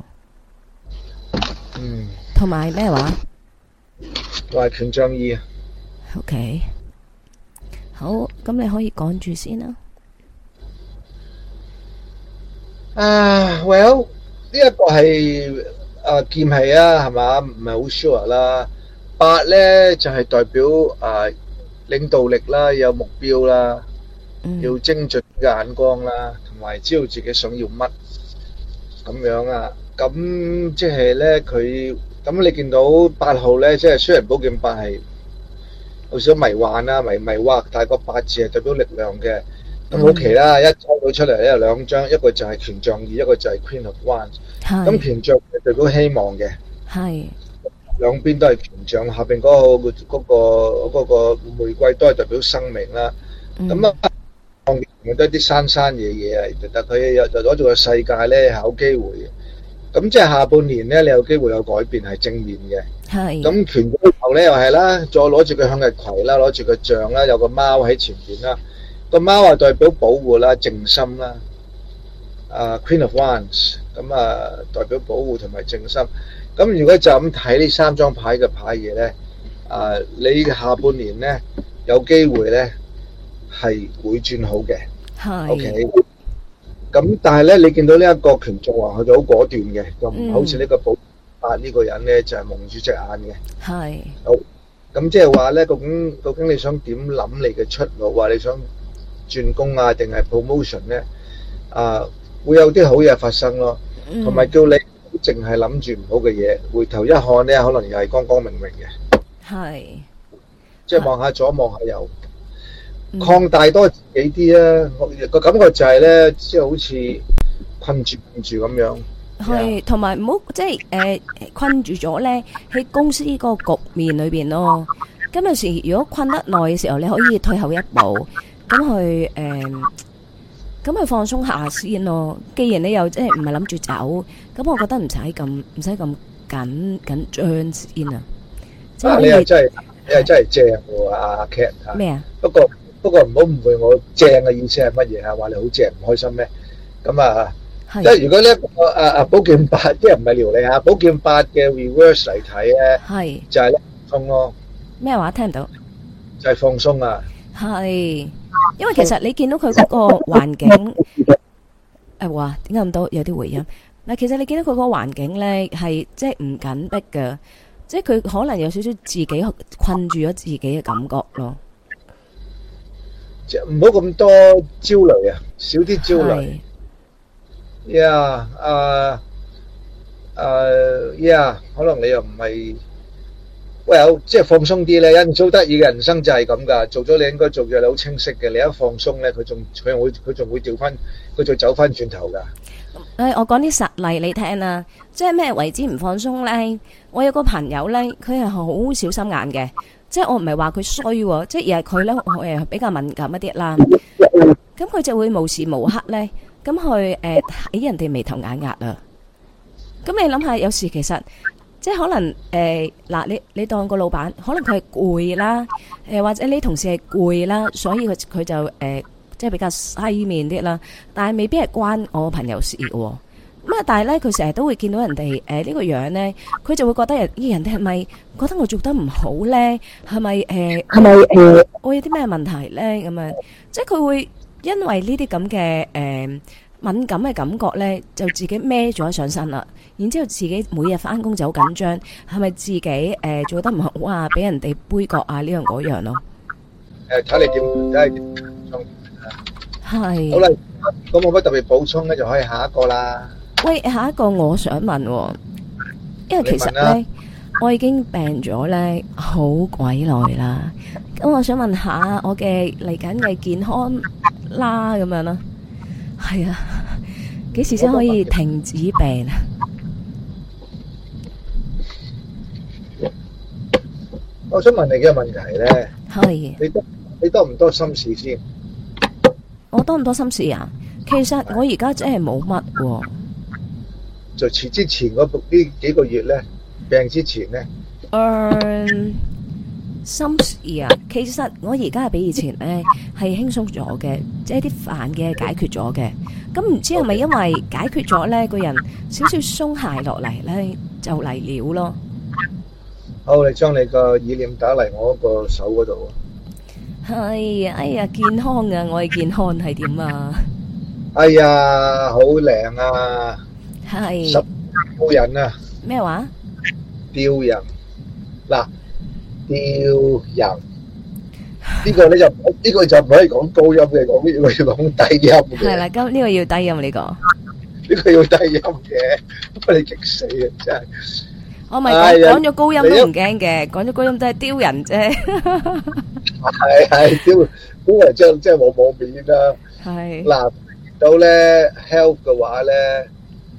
同埋咩話？ 同埋權杖2。 OK，好，咁你可以講住先啦。 Well， 呢一個係劍氣啊，係嘛？唔係好 sure 啦。8咧就係代表領導力啦，有目標啦。要精準嘅眼光啦，同埋知道自己想要乜咁樣啊。咁即係咧，佢咁你見到8號咧，即係雖然寶劍8係有少少迷幻啦、迷惑，但係個8字係代表力量嘅。咁好奇啦，一抽到出嚟咧有2張，一個就係權杖2，一個就係 Queen of Wands。咁權杖係代表希望嘅，係兩邊都係權杖，下邊嗰個玫瑰都係代表生命啦。咁都係啲山野嘢啊，但佢又攞住個世界咧係有機會嘅。咁即係下半年咧，你有機會有改變係正面嘅。係。咁權杖後咧又係啦，再攞住個向日葵啦，攞住個杖啦，有個貓喺前邊啦。個貓係代表保護啦、靜心啦。 Queen of Wands， 咁代表保護同埋靜心。咁如果就咁睇呢三張牌嘅牌嘢咧，你下半年咧有機會咧係會轉好嘅。 係。 OK。咁但係咧，你見到呢一個權杖話佢就好果斷嘅，就唔好似呢個寶八呢個人咧就係蒙住隻眼嘅。 係。 好。咁即係話咧，究竟你想點諗你嘅出路啊？你想轉工啊，定係 promotion 咧？會有啲好嘢發生咯，同埋叫你淨係諗住唔好嘅嘢，回頭一看咧，可能又係光光明明嘅。係，即係望下左望下右，擴大多自己啲啊！我個感覺就係咧，即係好似困住咁樣。係，同埋唔好即係困住咗咧喺公司個局面裏邊咯。咁有時如果困得耐嘅時候，你可以退後一步，咁去放鬆下先咯。既然你又即係唔係諗住走，咁我覺得唔使咁緊張先啊。即係你係真係正喎，阿 Cat。咩啊？不過唔好誤會我正嘅意思係乜嘢啊？話你好正唔開心咩？咁即係如果呢一個寶劍八，即係唔係撩你嚇，寶劍八嘅 reverse 嚟睇咧，係就係放鬆咯。咩話？聽唔到？就係放鬆啊！係。因為其實你見到佢嗰個環境，哇，點解咁多有啲回音？嗱，其實你見到佢嗰個環境咧，係即係唔緊迫嘅，即係佢可能有少少自己困住咗自己嘅感覺咯。即係唔好咁多焦慮啊，少啲焦慮。可能你又唔係。即係放鬆啲咧，人做得意嘅人生就係咁噶，做咗你應該做嘅，你好清晰嘅，你一放鬆咧，佢仲會調翻，佢就走翻轉頭噶。我講啲實例你聽啊，即係咩為之唔放鬆咧？我有個朋友咧，佢係好小心眼嘅，即係我唔係話佢衰，即係而係佢咧，比較敏感一啲啦。咁佢就會無時無刻咧，咁去睇人哋眉頭眼額啊。咁你諗下，有時其實。即係可能你當個老闆，可能佢係攰啦，或者你同事係攰啦，所以佢就即係比較西面啲啦。但係未必係關我朋友事嘅。咁但係咧，佢成日都會見到人哋呢個樣咧，佢就會覺得人哋係咪覺得我做得唔好咧？係咪我有啲咩問題咧？咁樣即係佢會因為呢啲咁嘅敏感嘅感覺咧，就自己孭咗上身啦。然之後自己每日翻工就好緊張，係咪自己做得唔好啊？俾人哋杯葛啊，呢樣嗰樣咯。睇你點，睇你點係。好啦，咁冇乜特別補充咧，就可以下一個啦。喂，下一個我想問，因為其實咧，我已經病咗咧好鬼耐啦。咁我想問下我嘅嚟緊嘅健康啦，咁樣啦。係啊，幾時先可以停止病啊？我想問你嘅問題咧，係你多唔多心事先？我多唔多心事啊？其實我而家真係冇乜喎。就遲之前呢幾個月咧，病之前咧，心事啊，其實我而家係比以前咧係輕鬆咗嘅，即係啲煩嘅解決咗嘅。咁唔知係咪因為解決咗咧，個人少少鬆懈落嚟咧，就嚟了咯。好，你將你個意念打嚟我個手嗰度。係，哎呀，健康啊！我嘅健康係點啊？哎呀，好靚啊！係。雕人啊！咩話？雕人嗱。雕人呢個咧就唔可以講高音嘅，講呢個要講低音嘅。係啦，咁呢個要低音呢個。呢個要低音嘅，不過你激死啊！真係。我咪講咗高音都唔驚嘅，講咗高音都係雕人啫。係雕人真係冇面啦。係。嗱，到咧 health 嘅話咧，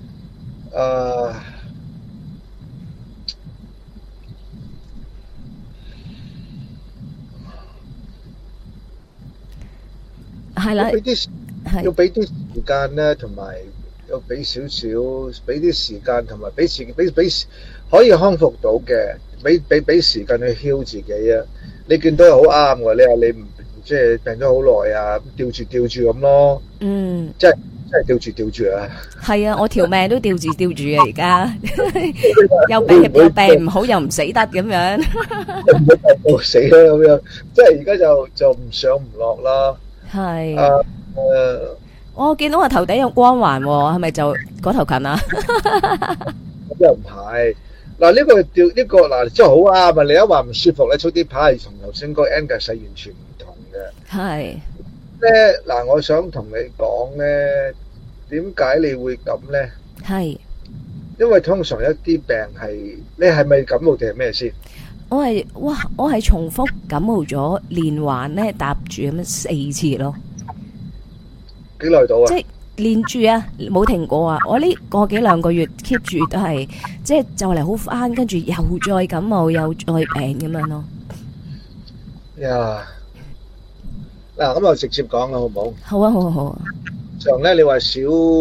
係啦，要俾啲時間咧，同埋要俾少少，俾啲時間同埋俾可以康復到嘅，俾時間去 heal 自己啊！你見到係好啱嘅，你話你唔即係病咗好耐啊，吊住咁咯。嗯，即係真係吊住啊！ 係啊，我條命都吊住啊，而家又病唔好，又唔死得咁樣。 到死啦咁樣，即係而家就唔上唔落啦。 係。 我見到我頭頂有光環，係咪就嗰頭近啊？ 又唔係。嗱呢個嗱真係好啱啊！你一話唔舒服咧，出啲牌係同頭先嗰個 Angus 係完全唔同嘅。 係咧嗱，我想同你講咧，點解你會咁咧？ 係因為通常一啲病係你係咪感冒定係咩先？ 我係重複感冒咗連環咧搭住咁樣4次咯。 幾耐到啊？ 即係連住啊，冇停過啊！我呢個幾兩個月 keep 住都係，即係就嚟好翻，跟住又再感冒，又再病咁樣咯。 呀，嗱咁我直接講啦，好唔好？ 好啊，好啊，好啊。 常咧，你話少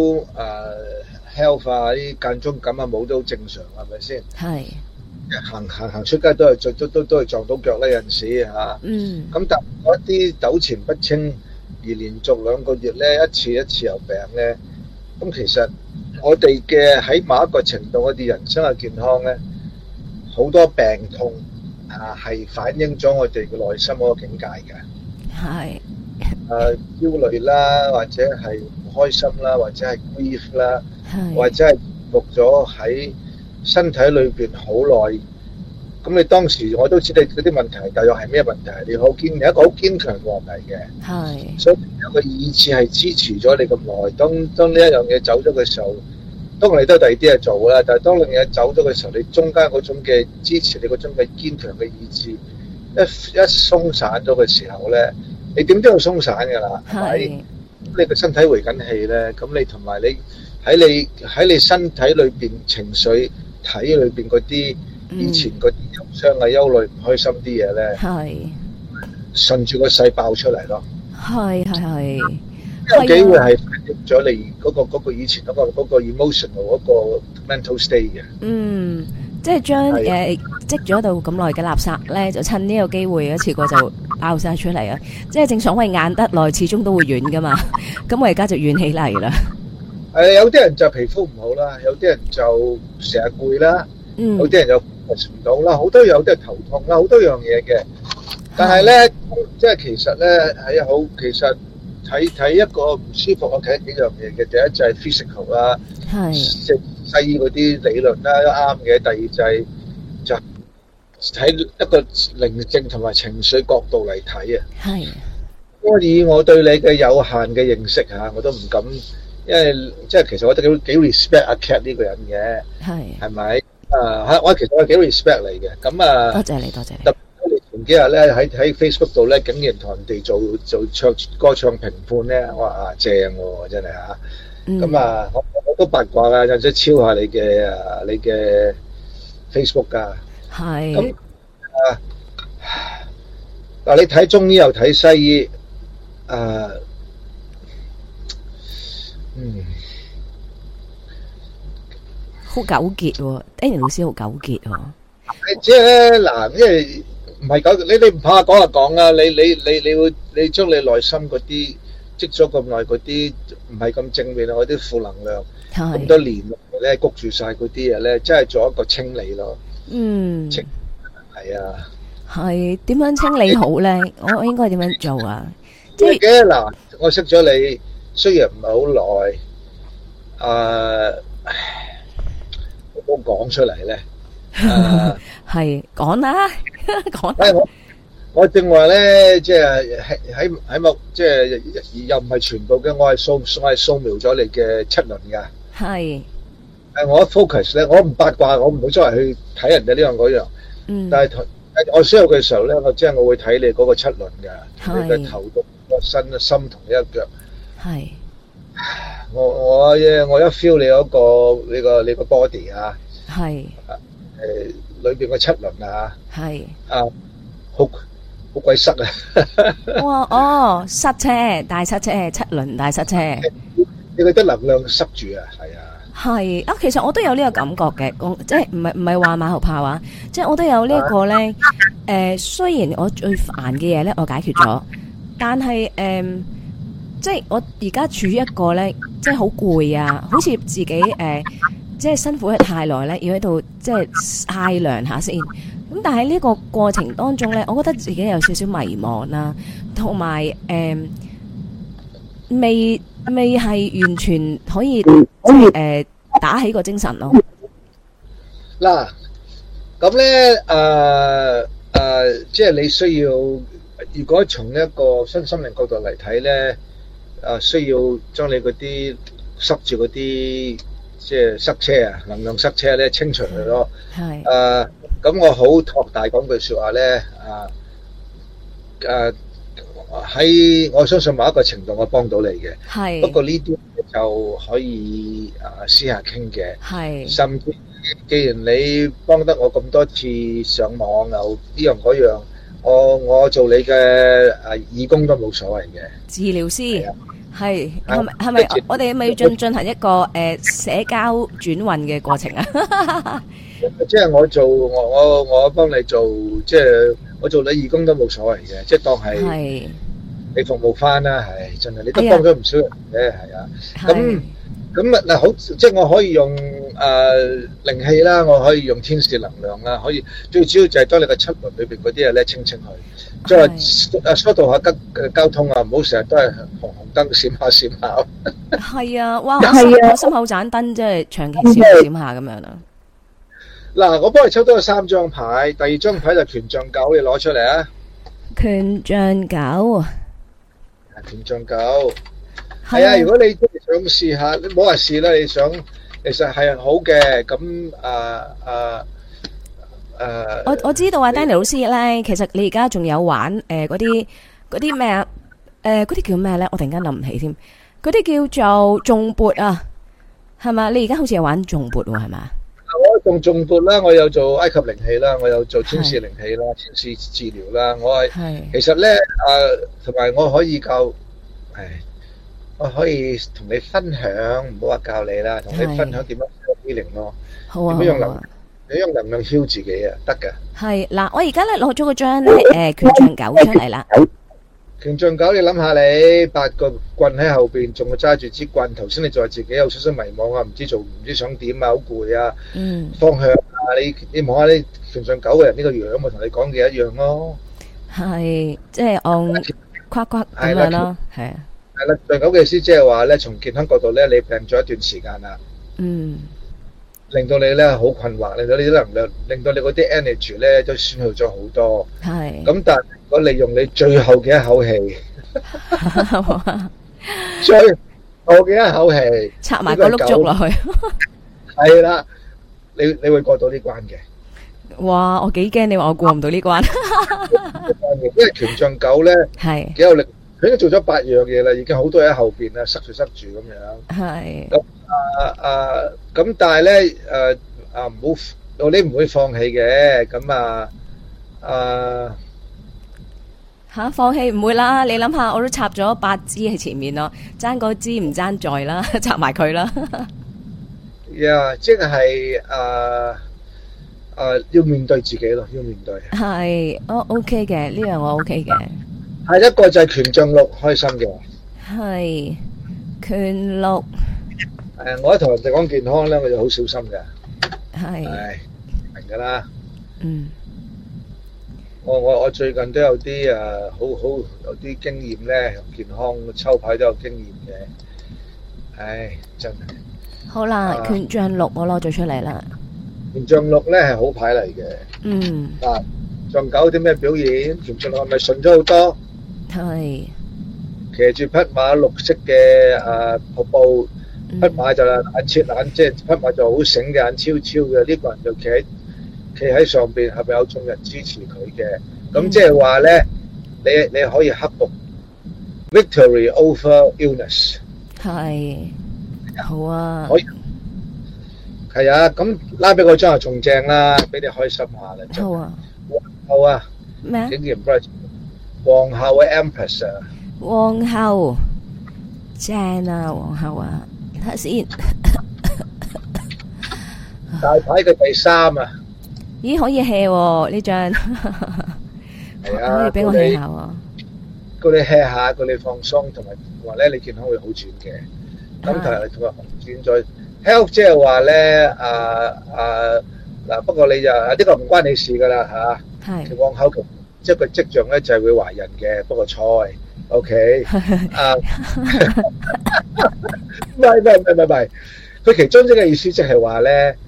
health 啊，啲間中感啊冇都好正常，係咪先？ 係。 行出街都係撞到腳咧，有陣時嚇。 嗯。 咁但係一啲糾纏不清，而連續2個月咧一次又病咧，咁其實我哋嘅喺某一個程度，我哋人生嘅健康咧，好多病痛係反映咗我哋嘅內心嗰個境界嘅。 係。 焦慮啦，或者係唔開心啦，或者係 grief 啦，或者係伏咗喺身體裏邊好耐。咁你當時我都知你嗰啲問題，大約係咩問題？你有一個好堅強嘅問題嘅，係，所以有個意志係支持咗你咁耐。當呢一樣嘢走咗嘅時候，當然你都有第二啲嘢做啦。但係當呢樣嘢走咗嘅時候，你中間嗰種嘅支持你嗰種嘅堅強嘅意志，一鬆散咗嘅時候咧，你點都要鬆散㗎啦，係咪？咁你個身體回緊氣咧，咁你同埋你喺你身體裏邊情緒體裏邊嗰啲以前嗰啲憂傷啊、憂慮、唔開心啲嘢咧，係順住個勢爆出嚟咯。係，有機會係反映咗你嗰個以前嗰個 emotional 嗰個 mental state 嘅。嗯，即係將積咗到咁耐嘅垃圾咧，就趁呢個機會一次過就爆晒出嚟啊！即係正所謂硬得耐，始終都會軟噶嘛。咁我而家就軟起嚟啦。有啲人就皮膚唔好啦，有啲人就成日攰啦，有啲人就食唔到啦，好多有啲人頭痛啦，好多樣嘢嘅。但係咧，即係其實咧其實睇一個唔舒服，我睇幾樣嘢嘅。第一就係 physical 啦，即係西醫嗰啲理論啦都啱嘅。第二就睇一個寧靜同埋情緒角度嚟睇啊。係。以我對你嘅有限嘅認識嚇，我都唔敢，因為即係其實我都幾 respect 阿 Cat 呢個人嘅，係咪？我其實我幾 respect 你嘅，咁啊，多謝你。特別前幾日咧喺 Facebook 度咧，竟然同人哋做歌唱評判咧，我話正喎，真係嚇。咁啊，我都八卦㗎，有陣時抄下你嘅 Facebook 㗎。係。咁嗱，你睇中醫又睇西醫，好糾結喎 ，Danny 老師好糾結喎。即係嗱，因為唔係糾結，你唔怕講就講啦。你將你內心嗰啲積咗咁耐嗰啲唔係咁正面啊，嗰啲負能量咁多年咧，谷住晒嗰啲嘢咧，真係做一個清理咯。嗯，係啊。係點樣清理好咧？我應該點樣做啊？即係嘅嗱，我識咗你，雖然唔係好耐，我講出嚟咧，係講啦，講。我正話咧，即係喺某即係又唔係全部嘅，我係掃描咗你嘅七輪噶。係。我一 focus 咧，我唔八卦，我唔會周圍去睇人哋呢樣嗰樣。嗯。但係我需要嘅時候咧，我會睇你嗰個七輪噶，你嘅頭到個身、心同一腳。係。我一 feel 你嗰個你個 body 啊。係。裏邊個七輪啊。係。好鬼塞啊！哇塞車，大塞車，七輪大塞車。你覺得能量塞住啊？係啊。係啊，其實我都有呢個感覺嘅，即係唔係話馬後炮啊，即係我都有呢一個咧。雖然我最煩嘅嘢咧，我解決咗，但係即係我而家處於一個咧，即係好攰啊，好似自己即係辛苦得太耐咧，要喺度即係曬涼下先。咁但係呢個過程當中咧，我覺得自己有少少迷茫啦，同埋未係完全可以打起個精神咯。 嗱，咁咧即係你需要，如果從一個身心靈角度嚟睇咧，需要將你嗰啲塞住嗰啲即係塞車啊，能量塞車咧清除佢咯。 係。 咁我好托大講句説話咧，喺我相信某一個程度我幫到你嘅。 係。 不過呢啲就可以私下傾嘅。 係。 甚至既然你幫得我咁多次上網又呢樣嗰樣，我做你嘅義工都冇所謂嘅。 治療師係咪我哋咪要進行一個社交轉運嘅過程啊？ 即係我幫你做，即係我做你義工都冇所謂嘅，即係當係你服務翻啦，係真係你都幫咗唔少人嘅，係啊。咁嗱好，即係我可以用靈氣啦，我可以用天使能量啦，可以最主要就係當你嘅七輪裏邊嗰啲嘢咧清佢，即係疏導下交通啊，唔好成日都係紅燈閃下閃下。 係啊，哇！我心口盞燈即係長期閃下閃下咁樣啦。 嗱，我幫你抽多咗3張牌，第2張牌就權杖九，你攞出嚟啊！ 權杖九， 權杖九，係啊！如果你想試下，你唔好話試啦，你想，其實係好嘅。咁我知道啊，Danny 老師咧，其實你而家仲有玩嗰啲咩啊？嗰啲叫咩咧？我突然間諗唔起添。嗰啲叫做頌缽啊，係嘛？你而家好似有玩頌缽喎，係嘛？ 我用頌缽啦，我有做埃及靈氣啦，我有做天使靈氣啦，天使治療啦。我係其實咧同埋我可以教，我可以同你分享，唔好話教你啦，同你分享點樣做靈咯。 好啊， 點樣用能量 heal 自己啊，得㗎。係嗱，我而家咧攞咗個張咧權杖九出嚟啦。 權杖九，你諗下你8個棍喺後邊，仲要揸住支棍。頭先你就話自己有少少迷茫啊，唔知想點啊，好攰啊，方向啊，你望下你權杖九嘅人呢個樣，我同你講嘅一樣咯。係， 即係按夸夸咁樣咯，係啊。 係啦，權杖九嘅意思即係話咧，從健康角度咧，你病咗一段時間啦，令到你咧好困惑，令到你啲能量，令到你嗰啲 energy 咧都損耗咗好多。係。咁但係如果你用你最後嘅一口氣，最後嘅一口氣， 插埋個碌竹落去。 係啦，你會過到呢關嘅。 哇！我幾驚你話我過唔到呢關。 因為權杖九咧係幾有力，佢已經做咗8樣嘢啦，已經好多嘢喺後邊啦，塞住咁樣。係。咁但係咧唔好，你唔會放棄嘅。咁放棄唔會啦。你諗下，我都插咗8支喺前面咯，爭嗰支唔爭在啦，插埋佢啦。 即係要面對自己咯，要面對。係， 我 OK 嘅，呢樣我 OK 嘅。 係一個就係權杖6，開心嘅。係權6。 我一同人哋講健康咧，我就好小心嘅。係明噶啦。我最近都有啲好有啲經驗咧，健康抽牌都有經驗嘅。真係。好啦， 權杖6我攞咗出嚟啦。 權杖6咧係好牌嚟嘅。杖9有啲咩表現？權杖6係咪順咗好多？係。騎住匹馬，綠色嘅瀑布。匹馬就眼即係匹馬就好醒嘅，眼超超嘅。呢個人就企喺上邊，係咪有眾人支持佢嘅？咁即係話咧，你可以克服 victory over illness。係，好啊。可以。係啊，咁拉俾我張係仲正啦，俾你開心下啦。好啊。皇后啊。咩啊？竟然唔該，皇后嘅 Empress 啊。 皇后。正啊，皇后啊。睇下先， 大牌嘅第3啊！ 咦，可以 hea 喎呢張，係啊，可以俾我 hea 下喎。 叫你 hea 下，叫你放鬆，同埋話咧你健康會好轉嘅。咁同埋好轉再 health 即係話咧嗱，不過你就呢個唔關你事噶啦嚇。 係往後即係個跡象咧就係會懷孕嘅，不過菜 OK 唔係，佢其中一個意思即係話咧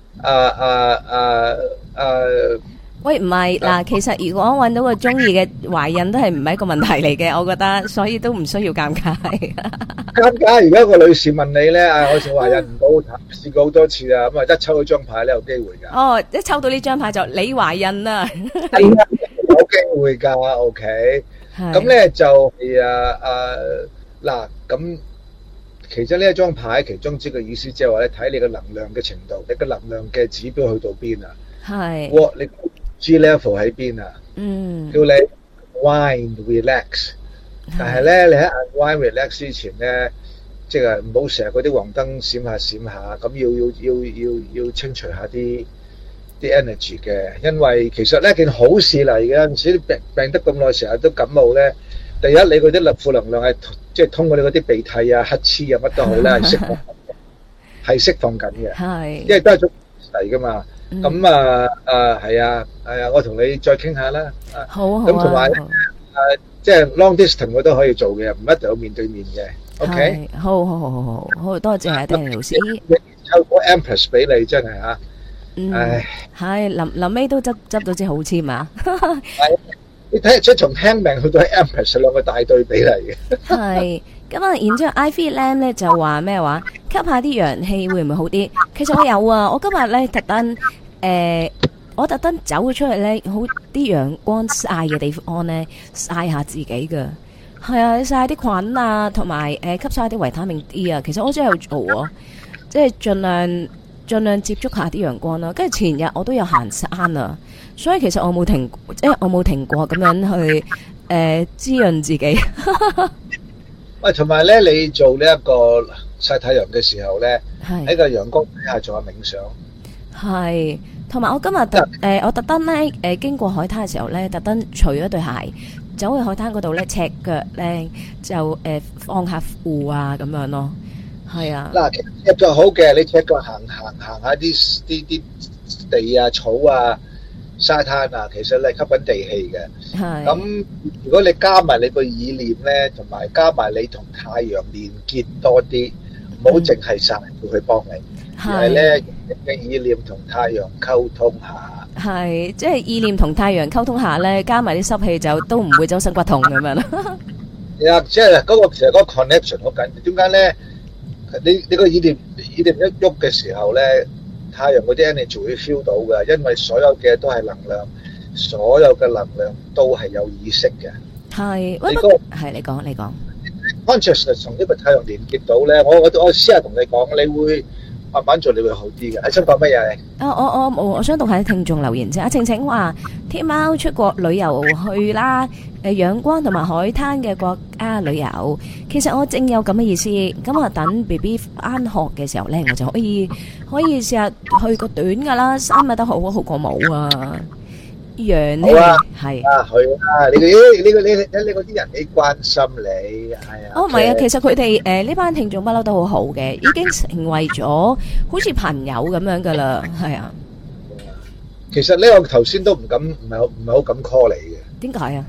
喂，唔係嗱，其實如果揾到個中意嘅懷孕都係唔係一個問題嚟嘅，我覺得，所以都唔需要尷尬。 尷尬，如果個女士問你咧，我仲懷孕唔到，試過好多次啊，咁一抽到張牌咧有機會㗎。 哦，一抽到呢張牌就你懷孕啦， 係啊，有機會㗎，OK。咁咧就係嗱，咁其實呢一張牌其中之個意思即係話咧，睇你嘅能量嘅程度，你嘅能量嘅指標去到邊啊？ 係。 你 G level 喺邊啊？叫你 unwind relax，但係咧你喺 unwind relax 之前咧，即係唔好成日嗰啲黃燈閃下閃下，咁要清除下啲 energy 嘅，因為其實呢件好事嚟嘅，有陣時病得咁耐，成日都感冒咧。第一，你嗰啲負能量係即係通過你嗰啲鼻涕啊、乞嗤啊乜都好咧，係釋放緊嘅，係，因為都係種嚟噶嘛。咁係啊，我同你再傾下啦。 好， 咁同埋即係 long distance 我都可以做嘅，唔一定要面對面嘅。OK， 好，多謝阿 Danny 老師。 抽個 Empress 俾你，真係嚇。唉， 係臨尾都執到支好籤啊！ 你睇得出從聽命去到 Empress 兩個大對比嚟嘅。 係咁啊，然之後 Ivy Lam 咧就話咩話？吸下啲陽氣會唔會好啲？其實我有啊，我今日咧特登走咗出去咧，好啲陽光曬嘅地方咧，曬下自己噶。係啊，曬啲菌啊，同埋吸晒啲維他命 D 啊。其實我真係有做啊，即係盡量接觸下啲陽光啦。跟住前日我都有行山啊，所以其實我冇停過咁樣去滋潤自己。 喂，同埋咧，你做呢一個曬太陽嘅時候咧，喺個陽光底下做下冥想。係，同埋我今日我特登咧經過海灘嘅時候咧，特登除咗對鞋，走去海灘嗰度咧，赤腳咧就放下褲啊咁樣咯。係啊。嗱，赤腳好嘅，你赤腳行下啲地啊、草啊、沙灘啊，其實你係吸緊地氣嘅。係。咁如果你加埋你個意念咧，同埋加埋你同太陽連結多啲，唔好淨係曬要去幫你，而係咧你嘅意念同太陽溝通下。係，即係意念同太陽溝通下咧，加埋啲濕氣就都唔會周身骨痛咁樣啦。係啊，即係嗰個其實嗰個 connection 好緊要。點解咧？你個意念一喐嘅時候咧，太陽嗰啲 energy 會 feel 到嘅，因為所有嘅都係能量，所有嘅能量都係有意識嘅。係，你講。consciousness 同呢個太陽連結到咧，我私下同你講，你會慢慢做，你會好啲嘅。你想講乜嘢？我想讀下啲聽眾留言啫。阿晴晴話：天喵出國旅遊去啦，陽光同埋海灘嘅國家旅遊。其實我正有咁嘅意思，咁啊等 BB 返學嘅時候咧，我就可以試下去個短噶啦，3日都好過冇啊。陽氣係去啊！你嗰啲人幾關心你，係啊。唔係啊，其實佢哋呢班聽眾不嬲都好好嘅，已經成為咗好似朋友咁樣噶啦，係啊。其實呢，我頭先都唔係好敢 call 你嘅。點解啊？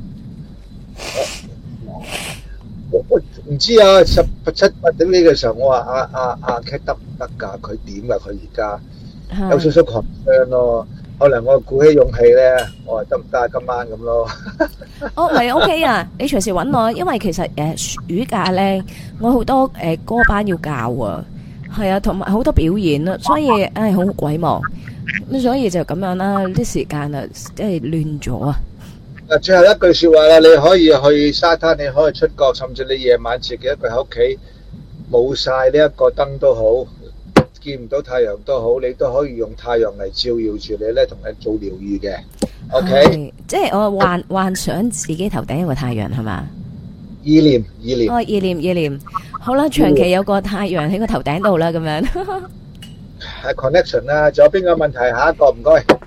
我唔知啊，7-8點呢個時候，我話阿 Cat 得唔得㗎？佢點㗎？佢而家有少少 concern 咯。可能我鼓起勇氣咧，我話得唔得啊？今晚咁咯。唔係 OK 啊！你隨時揾我，因為其實暑假咧，我好多歌班要教啊，係啊，同埋好多表演啊，所以好鬼忙咁，所以就咁樣啦。啲時間啊，即係亂咗啊！最後一句說話啦，你可以去沙灘，你可以出國，甚至你夜晚自己一個喺屋企冇晒呢一個燈都好。見唔到太陽都好，你都可以用太陽嚟照耀住你咧，同你做療愈嘅。OK，即係我幻想自己頭頂有個太陽係嘛？意念。哦，意念。好啦，長期有個太陽喺個頭頂度啦，咁樣。係 connection 啦，仲有邊個問題？下一個唔該。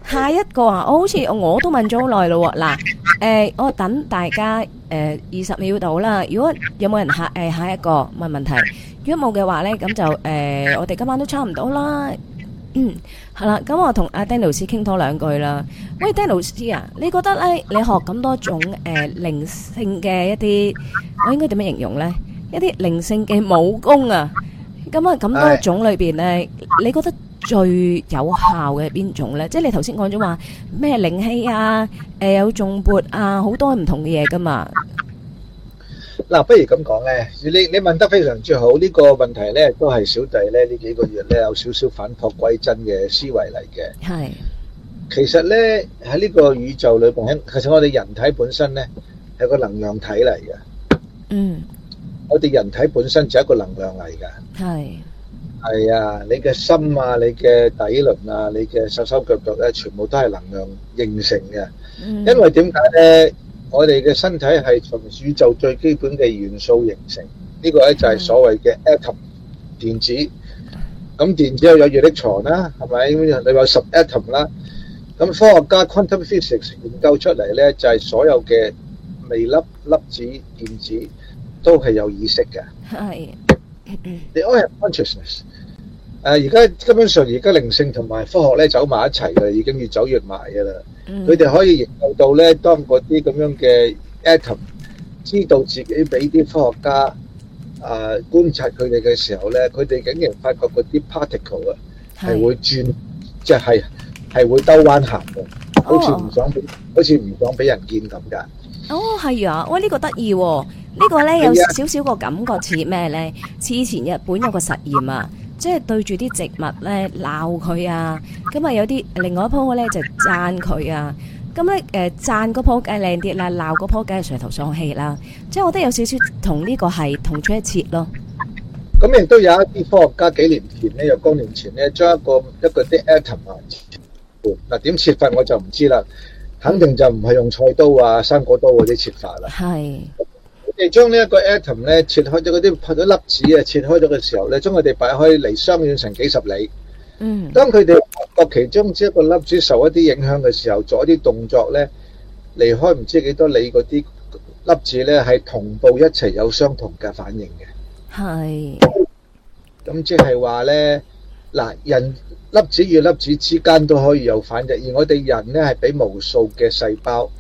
下一個啊，我好似我都問咗好耐咯喎。嗱，我等大家20秒到啦。如果有冇人下一個問問題？如果冇嘅話咧，咁就我哋今晚都差唔多啦。係啦，咁我同阿 Danny 老師傾多兩句啦。喂，Danny 老師啊，你覺得咧，你學咁多種靈性嘅一啲，我應該點樣形容咧？一啲靈性嘅武功啊，咁多種裏邊咧，你覺得最有效嘅係邊種咧？即係你頭先講咗話咩靈氣啊，有頌缽啊，好多唔同嘅嘢噶嘛。 嗱，不如咁講咧，你問得非常之好，呢個問題咧都係小弟咧呢幾個月咧有少少返璞歸真嘅思維嚟嘅。 係， 其實咧喺呢個宇宙裏邊，其實我哋人體本身咧係個能量體嚟嘅。我哋人體本身就係一個能量嚟㗎。係啊，你嘅心啊，你嘅底輪啊，你嘅手手腳腳咧，全部都係能量形成嘅。因為點解咧？我哋嘅身體係從宇宙最基本嘅元素形成，呢個咧就係所謂嘅 atom 電子。咁電子有熱力場啦，係咪？你有10 atom 啦。咁科學家 quantum physics 研究出嚟咧，就係所有嘅微粒、粒子、電子都係有意識嘅。係。They all have consciousness。而家根本上而家靈性同埋科學咧走埋一齊嘅，已經越走越埋嘅啦。佢哋可以研究到咧，當嗰啲咁樣嘅 atom 知道自己俾啲科學家觀察佢哋嘅時候咧，佢哋竟然發覺嗰啲 particle 係會轉，即係會兜彎行嘅，好似唔想俾人見咁㗎。 係啊，喂，呢個得意喎，呢個咧有少少個感覺似咩咧？似以前日本有個實驗啊。即係對住啲植物咧鬧佢啊，咁啊有啲另外一棵咧就讚佢啊，咁咧讚嗰棵梗係靚啲啦，鬧嗰棵梗係垂頭喪氣啦，即係我覺得有少少同呢個係同出一轍咯。 咁亦都有一啲科學家幾年前咧，有多年前咧，將一個啲 atom 嗱點切法我就唔知啦，肯定就唔係用菜刀啊、生果刀嗰啲切法啦。係。你將呢一個 atom 咧切開咗嗰啲粒子啊，切開咗嘅時候咧，將佢哋擺開離相遠成幾十里。當佢哋發覺其中之一個粒子受一啲影響嘅時候，做一啲動作咧，離開唔知幾多里嗰啲粒子咧，係同步一齊有相同嘅反應嘅。係。咁即係話咧，嗱，人粒子與粒子之間都可以有反應，而我哋人咧係俾無數嘅細胞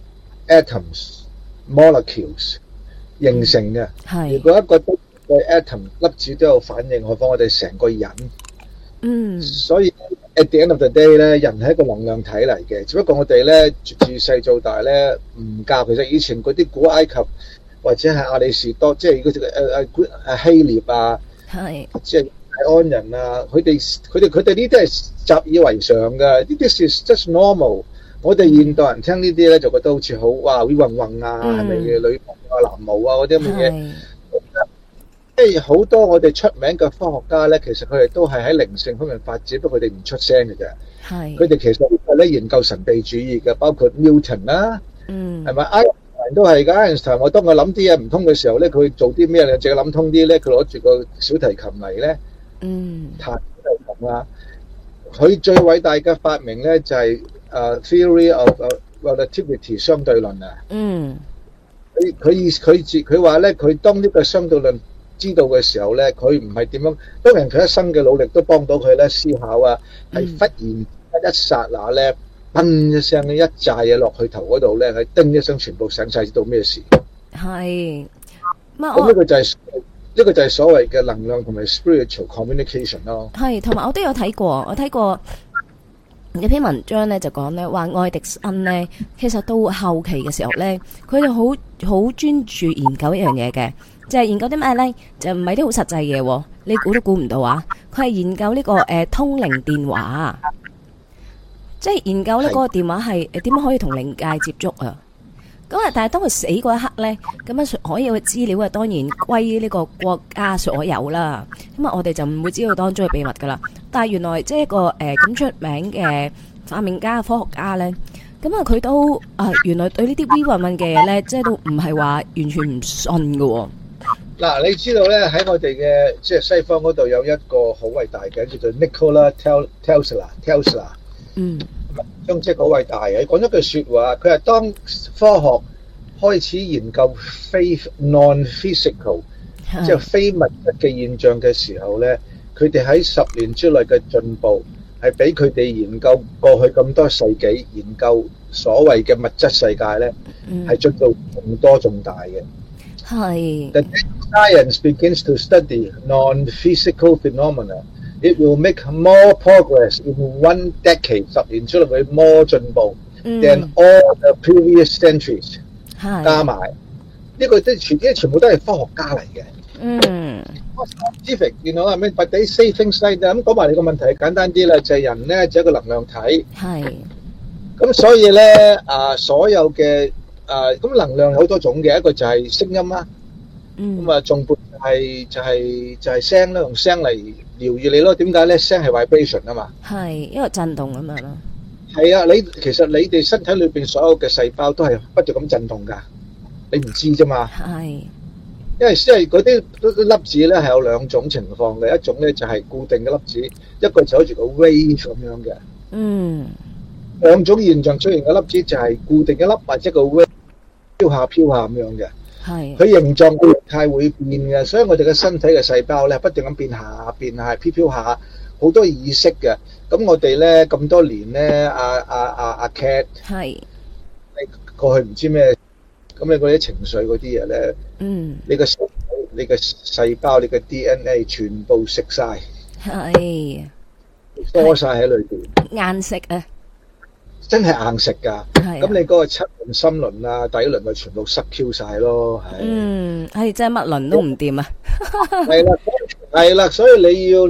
atoms molecules 形成嘅。如果一個atom 粒子都有反應，何況我哋成個人。所以 at the end of the day 咧，人係一個能量體嚟嘅，只不過我哋咧自細做大咧唔教。其實以前嗰啲古埃及或者係亞里士多，即係嗰啲希臘啊，即係泰安人啊，佢哋呢啲係習以為常嘅，呢啲係 just normal。我哋現代人聽呢啲咧，就覺得好似好哇，會暈暈啊，係咪嘅女巫啊、男巫啊嗰啲咁嘅嘢？即係好多我哋出名嘅科學家咧，其實佢哋都係喺靈性方面發展，不過佢哋唔出聲嘅啫。佢哋其實係咧研究神秘主義嘅，包括 Newton 啦，係咪？愛因斯坦都係㗎。愛因斯坦我當佢諗啲嘢唔通嘅時候咧，佢做啲咩咧？淨係諗通啲咧，佢攞住個小提琴嚟咧，彈小提琴啊！佢最偉大嘅發明咧就係theory of relativity 相對論啊。佢話咧，佢當呢個相對論知道嘅時候咧，佢唔係點樣，當然佢一生嘅努力都幫到佢咧思考啊，係忽然一剎那咧，砰一聲一炸嘢落去頭嗰度咧，佢叮一聲全部醒晒，知道咩事。係，咁呢個就係所謂嘅能量同埋 spiritual communication 咯。係，同埋我都有睇過，我睇過有篇文章咧就講咧話愛迪生咧，其實到後期嘅時候咧，佢就好專注研究一樣嘢嘅。就係研究啲咩咧？就唔係啲好實際嘢，你估都估唔到啊！佢係研究呢個通靈電話，即係研究呢嗰個電話係點樣可以同靈界接觸啊！咁啊，但係當佢死嗰一刻咧，咁樣所有嘅資料啊，當然歸呢個國家所有啦。咁啊，我哋就唔會知道當中嘅秘密噶啦。但係原來即係一個咁出名嘅發明家、科學家咧，咁啊佢都原來對呢啲 V 運運嘅嘢咧，即係都唔係話完全唔信噶。嗱，你知道咧喺我哋嘅即係西方嗰度有一個好偉大嘅叫做 Nikola Tesla。 中職好偉大嘅，講咗句説話，佢係當科學開始研究非 non-physical， 即係非物質嘅現象嘅時候咧，佢哋喺10年之內嘅進步係比佢哋研究過去咁多世紀研究所謂嘅物質世界咧，係進步仲多仲大嘅。 係。 The science begins to study non-physical phenomena. It will make more progress in one decade. 10年之內會 more 進步 than all the previous centuries。加埋呢個全部都係科學家嚟嘅。Scientific， you know，I mean， but they say things like that。咁講埋你個問題簡單啲啦，就係人咧就係一個能量體。係。咁所以咧所有嘅咁能量有好多種嘅，一個就係聲音啦。咁啊，重撥就係聲啦，用聲嚟療癒你咯。點解咧？聲係 vibration 啊嘛。係，因為震動咁樣咯。係啊，其實你哋身體裏邊所有嘅細胞都係不斷咁震動㗎，你唔知啫嘛。係，因為嗰啲粒子咧係有兩種情況嘅，一種咧就係固定嘅粒子，一個就好似個 wave 咁樣嘅。兩種現象出現嘅粒子就係固定嘅粒或者個 wave 飄下咁樣嘅。係，佢形狀嘅形態會變嘅，所以我哋嘅身體嘅細胞咧不斷咁變下飄下，好多意識嘅。咁我哋咧咁多年咧，阿 Cat 係，你過去唔知咩，咁你嗰啲情緒嗰啲嘢咧，你個細胞、你嘅 DNA 全部食晒，係，多晒喺裏邊，硬食啊！真係硬食㗎，咁你嗰個七輪、心輪啊、底輪啊，全部塞 Q 晒咯，係。係真係乜輪都唔掂啊！係啦，所以你用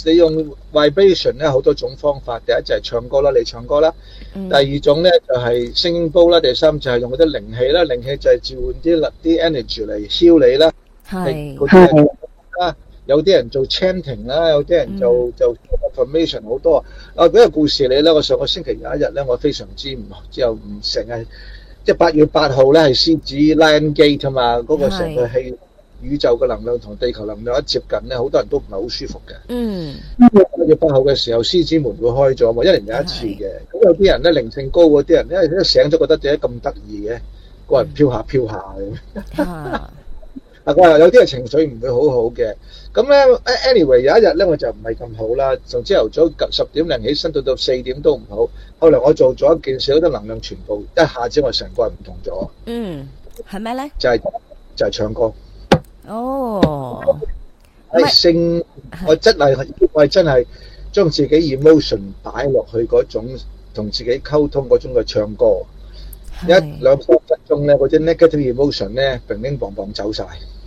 vibration 咧好多種方法，第一就係唱歌啦，你唱歌啦。第二種咧就係聲音煲啦，第三就係用嗰啲靈氣啦，靈氣就係召喚啲 energy 嚟 heal 你啦。係。有啲人做 chanting 啦，有啲人做 affirmation 好多。俾個故事你咧，我上個星期有一日咧，我非常之唔成日，即係8月8號咧係獅子 Lion Gate 啊嘛，嗰個成個氣宇宙嘅能量同地球能量一接近咧，好多人都唔係好舒服嘅。8月8號嘅時候，獅子門會開咗嘛，1年有一次嘅。咁有啲人咧靈性高嗰啲人咧，一醒咗覺得點解咁得意嘅，個人飄下咁。我話有啲係情緒唔會好好嘅，咁咧 anyway 有一日咧我就唔係咁好啦，從朝頭早10點零起身到4點都唔好，後來我做咗一件事，好多能量全部一下子我成個人唔同咗。係咩咧？就係唱歌。哦，係聲，我真係將自己 emotion 擺落去嗰種同自己溝通嗰種嘅唱歌，1、2、3分鐘咧，嗰啲 negative emotion 咧，乒乒乓乓走晒。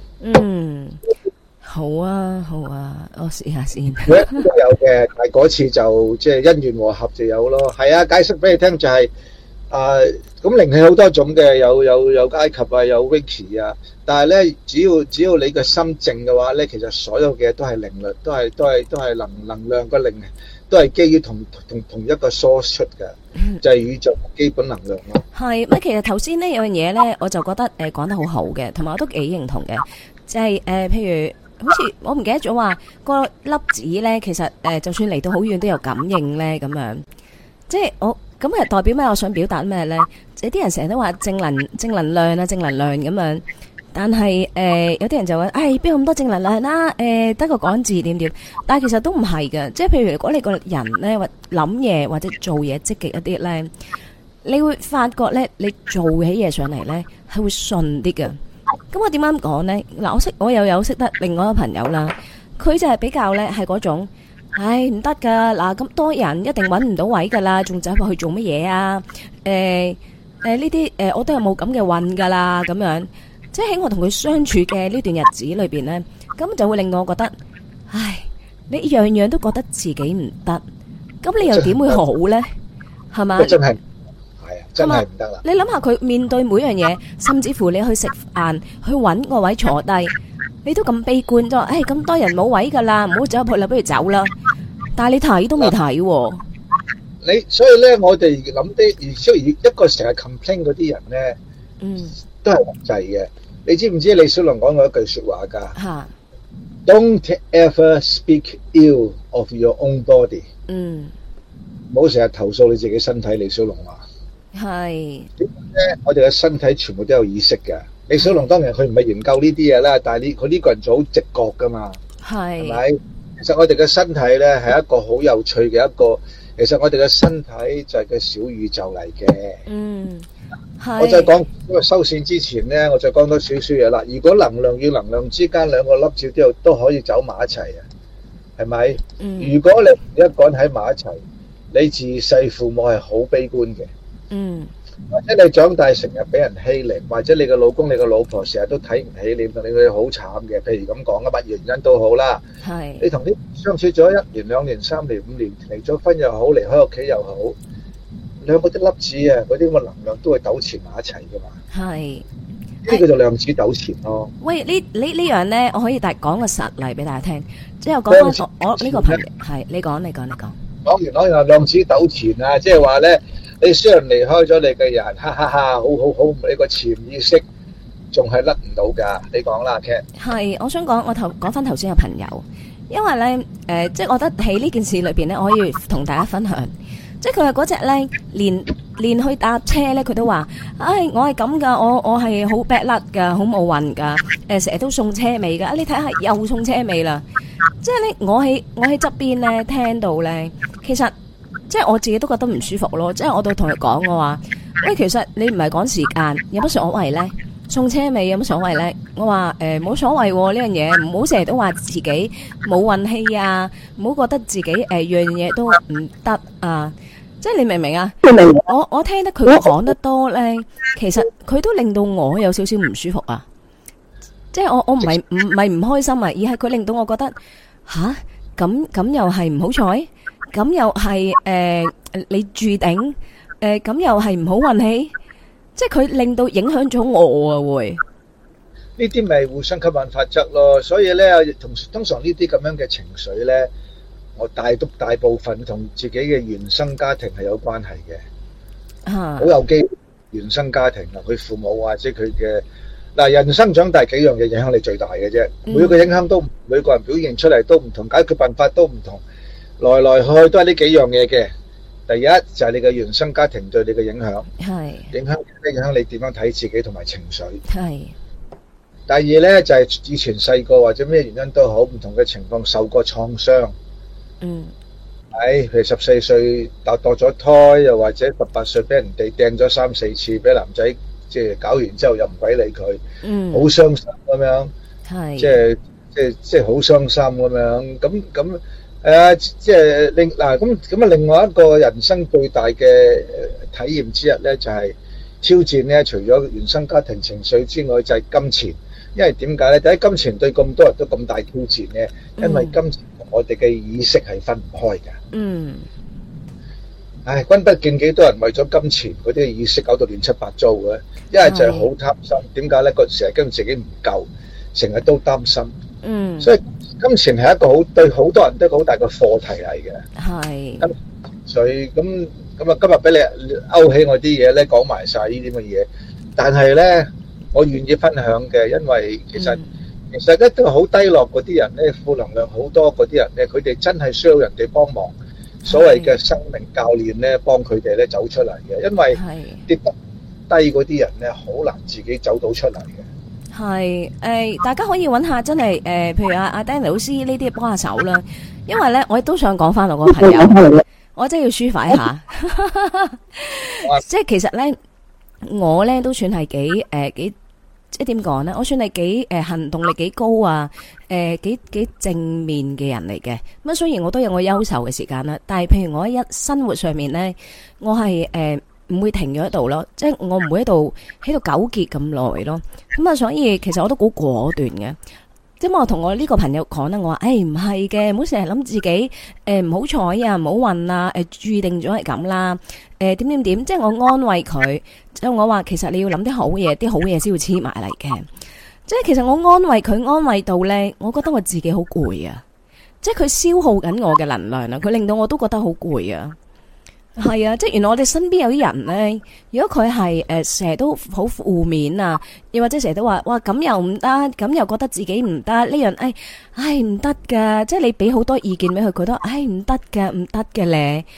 好啊，我試下先。都有嘅，但係嗰次就即係因緣和合就有咯。係啊，解釋俾你聽就係咁靈氣好多種嘅，有埃及啊，有 Reiki 啊。但係咧，只要你個心靜嘅話咧，其實所有嘅都係靈力，都係能量個靈，都係基於同一個 source 出嘅，就係宇宙基本能量咯。係乜？其實頭先呢有樣嘢咧，我就覺得講得好好嘅，同埋我都幾認同嘅，就係譬如好似我唔記得咗話個粒子咧，其實就算嚟到好遠都有感應咧，咁樣即係我咁係代表咩？我想表達咩咧？有啲人成日都話正能量啊，正能量咁樣。但係有啲人就話，邊有咁多正能量啦？得個講字點？但係其實都唔係嘅，即係譬如如果你個人咧，或諗嘢或者做嘢積極一啲咧，你會發覺咧，你做起嘢上嚟咧係會順啲嘅。咁我點樣講咧？嗱，我又有識得另外一個朋友啦，佢就係比較咧係嗰種，唔得噶，嗱咁多人一定搵唔到位噶啦，仲走入去做乜嘢啊？呢啲我都係冇咁嘅運噶啦，咁樣。即係喺我同佢相處嘅呢段日子裏邊咧，咁就會令我覺得，你樣樣都覺得自己唔得，咁你又點會好咧？係嘛？真係真係唔得啦！你諗下佢面對每樣嘢，甚至乎你去食飯，去搵個位坐低，你都咁悲觀咗，咁多人冇位噶啦，唔好走入去啦，不如走啦。但係你睇都未睇喎。所以咧，我哋諗啲，一個成日 complain 嗰啲人咧，都係控制嘅。你知唔知李小龍講過一句說話㗎？Don't ever speak ill of your own body。 唔好成日投訴你自己身體。李小龍話係我哋嘅身體全部都有意識嘅。李小龍當然佢唔係研究呢啲嘢啦，但係佢呢個人就好直覺噶嘛，係咪？其實我哋嘅身體咧係一個好有趣嘅一個，其實我哋嘅身體就係個小宇宙嚟嘅。我再講，因為收線之前咧，我再講多少少嘢啦。如果能量與能量之間兩個粒子都可以走埋一齊啊，係咪？如果你一個人喺埋一齊，你自細父母係好悲觀嘅。或者你長大成日俾人欺凌，或者你嘅老公、你嘅老婆成日都睇唔起你，令佢好慘嘅。譬如咁講啊，乜原因都好啦。你同啲相處咗1年、2年、3年、5年，離咗婚又好，離開屋企又好，兩個啲粒子啊，嗰啲咁嘅能量都會糾纏埋一齊噶嘛。呢個就量子糾纏咯。喂， 呢樣咧，我可以講個實例俾大家聽。即係我講翻我呢個朋友係，你講。 講完量子糾纏啊，即係話咧。你雖然離開咗你嘅人，哈哈哈，好，你個潛意識仲係甩唔到㗎。你講啦 Cat。係， 我想講，我講翻頭先嘅朋友，因為咧，即係我覺得喺呢件事裏邊咧，我可以同大家分享，即係佢係嗰隻咧，連去搭車咧，佢都話，唉，我係咁㗎，我係好 bad luck 㗎，好冇運㗎，成日都送車尾㗎，你睇下又送車尾啦，即係咧，我喺側邊咧聽到咧，其實。即係我自己都覺得唔舒服咯，即係我都同佢講我話，喂，其實你唔係趕時間，有乜所謂咧？送車尾有乜所謂咧？我話冇所謂呢樣嘢，唔好成日都話自己冇運氣啊，唔好覺得自己樣嘢都唔得啊！即係你明唔明啊？我聽得佢講得多咧，其實佢都令到我有少少唔舒服啊！即係我唔係唔開心啊，而係佢令到我覺得吓咁又係唔好彩。咁又係你注定咁又係唔好運氣，即係佢令到影響咗我啊！會呢啲咪互相吸引法則咯，所以咧通常呢啲咁樣嘅情緒咧，我大部分同自己嘅原生家庭係有關係嘅，好有機會原生家庭啊，佢父母或者佢嘅嗱人生長大幾樣嘢影響你最大嘅啫，每個影響都每個人表現出嚟都唔同，解決辦法都唔同。來來去去都係呢幾樣嘢嘅。第一就係你嘅原生家庭對你嘅影響，影響你點樣睇自己同埋情緒。第二呢就係以前細個或者咩原因都好，唔同嘅情況受過創傷。譬如14歲墮咗胎，又或者18歲俾人哋掟咗3、4次，俾男仔即係搞完之後又唔鬼理佢，好傷心咁樣，即係好傷心咁樣，咁。即係另外一個人生最大嘅體驗之一咧，就係挑戰咧。除咗原生家庭情緒之外，就係金錢。因為點解咧？第一，金錢對咁多人都咁大挑戰咧，因為金錢同我哋嘅意識係分唔開㗎。君不見幾多人為咗金錢嗰啲意識搞到亂七八糟嘅，一係就係好貪心。點解咧？成日驚自己唔夠，成日都擔心。所以金錢係一個對好多人都好大嘅課題嚟嘅。所以咁今日俾你勾起我啲嘢咧，講埋晒呢啲咁嘅嘢。但係咧，我願意分享嘅，因為其實一都好低落嗰啲人咧，負能量好多嗰啲人咧，佢哋真係需要人哋幫忙。所謂嘅生命教練咧，幫佢哋咧走出嚟嘅。因為跌得低嗰啲人咧，好難自己走到出嚟嘅。 大家可以揾下真係譬如阿 Danny 老師呢啲幫下手啦，因為咧我亦都想講翻我個朋友，我真係要抒發一下，即係其實咧我咧都算係幾即係點講咧，我算係幾行動力幾高啊，幾正面嘅人嚟嘅。咁雖然我都有我憂愁嘅時間啦，但係譬如我喺生活上面咧，我係唔會停咗喺度咯，即係我唔會喺度糾結咁耐咯。咁啊，所以其實我都好果斷嘅。咁我同我呢個朋友講啦，我話唔係嘅，唔好成日諗自己唔好彩啊，唔好運啊，注定咗係咁啦。點，即係我安慰佢，即係我話其實你要諗啲好嘢，啲好嘢先會黐埋嚟嘅。即係其實我安慰佢，安慰到咧，我覺得我自己好攰啊。即係佢消耗緊我嘅能量啊，佢令到我都覺得好攰啊。係啊，即係原來我哋身邊有啲人咧，如果佢係成日都好負面啊，又或者成日都話哇咁又唔得，咁又覺得自己唔得呢樣，唔得噶，即係你俾好多意見俾佢，覺得唔得嘅，唔得嘅咧。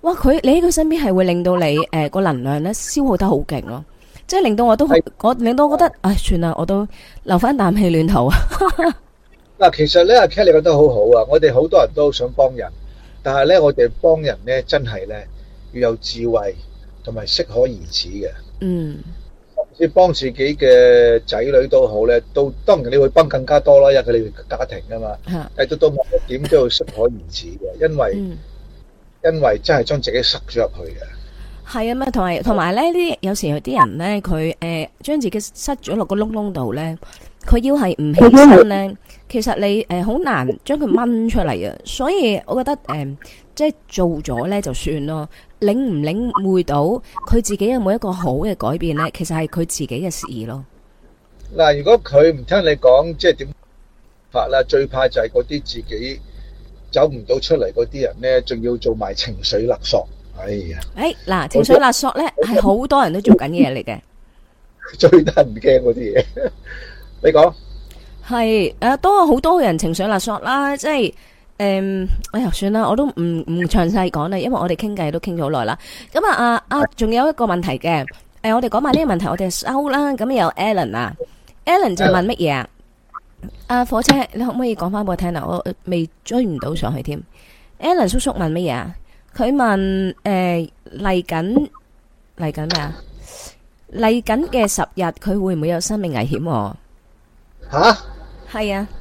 哇！你喺佢身邊係會令到你個能量咧消耗得好勁咯，即係令到我令到我覺得唉算啦，我都留翻啖氣暖頭啊！ 嗱，其實咧阿 Cat 你覺得好好啊，我哋好多人都想幫人，但係咧我哋幫人咧真係咧要有智慧同埋適可而止嘅。 嗯， 你幫自己嘅仔女都好咧，當然你會幫更加多啦，因為佢哋家庭啊嘛。但係到某一點都要適可而止嘅，因為真係將自己塞咗入去嘅。 係啊嘛，同埋咧，有時有啲人咧，佢將自己塞咗落個窿窿度咧，佢要係唔起身咧，其實你好難將佢掹出嚟啊。所以我覺得即係做咗咧就算咯，領唔領會到佢自己有冇一個好嘅改變咧，其實係佢自己嘅事咯。 嗱，如果佢唔聽你講，即係點法啦？最怕就係嗰啲自己走唔到出嚟嗰啲人咧，仲要做埋情緒勒索。哎呀！ 嗱，情緒勒索咧係好多人都做緊嘢嚟嘅， 最得人驚嗰啲嘢。你講係都好多人情緒勒索啦，即係哎呀算啦，我都唔詳細講啦，因為我哋傾偈都傾咗好耐啦。咁仲有一個問題嘅，我哋講埋呢個問題，我哋收啦。咁有 Alan 啊，Alan 就問乜嘢啊？火車，你可唔可以講翻俾我聽啊？我未追唔到上去添。Alan 叔叔問乜嘢啊？佢問嚟緊咩啊？嚟緊嘅10日，佢會唔會有生命危險？ 吓？ 係啊。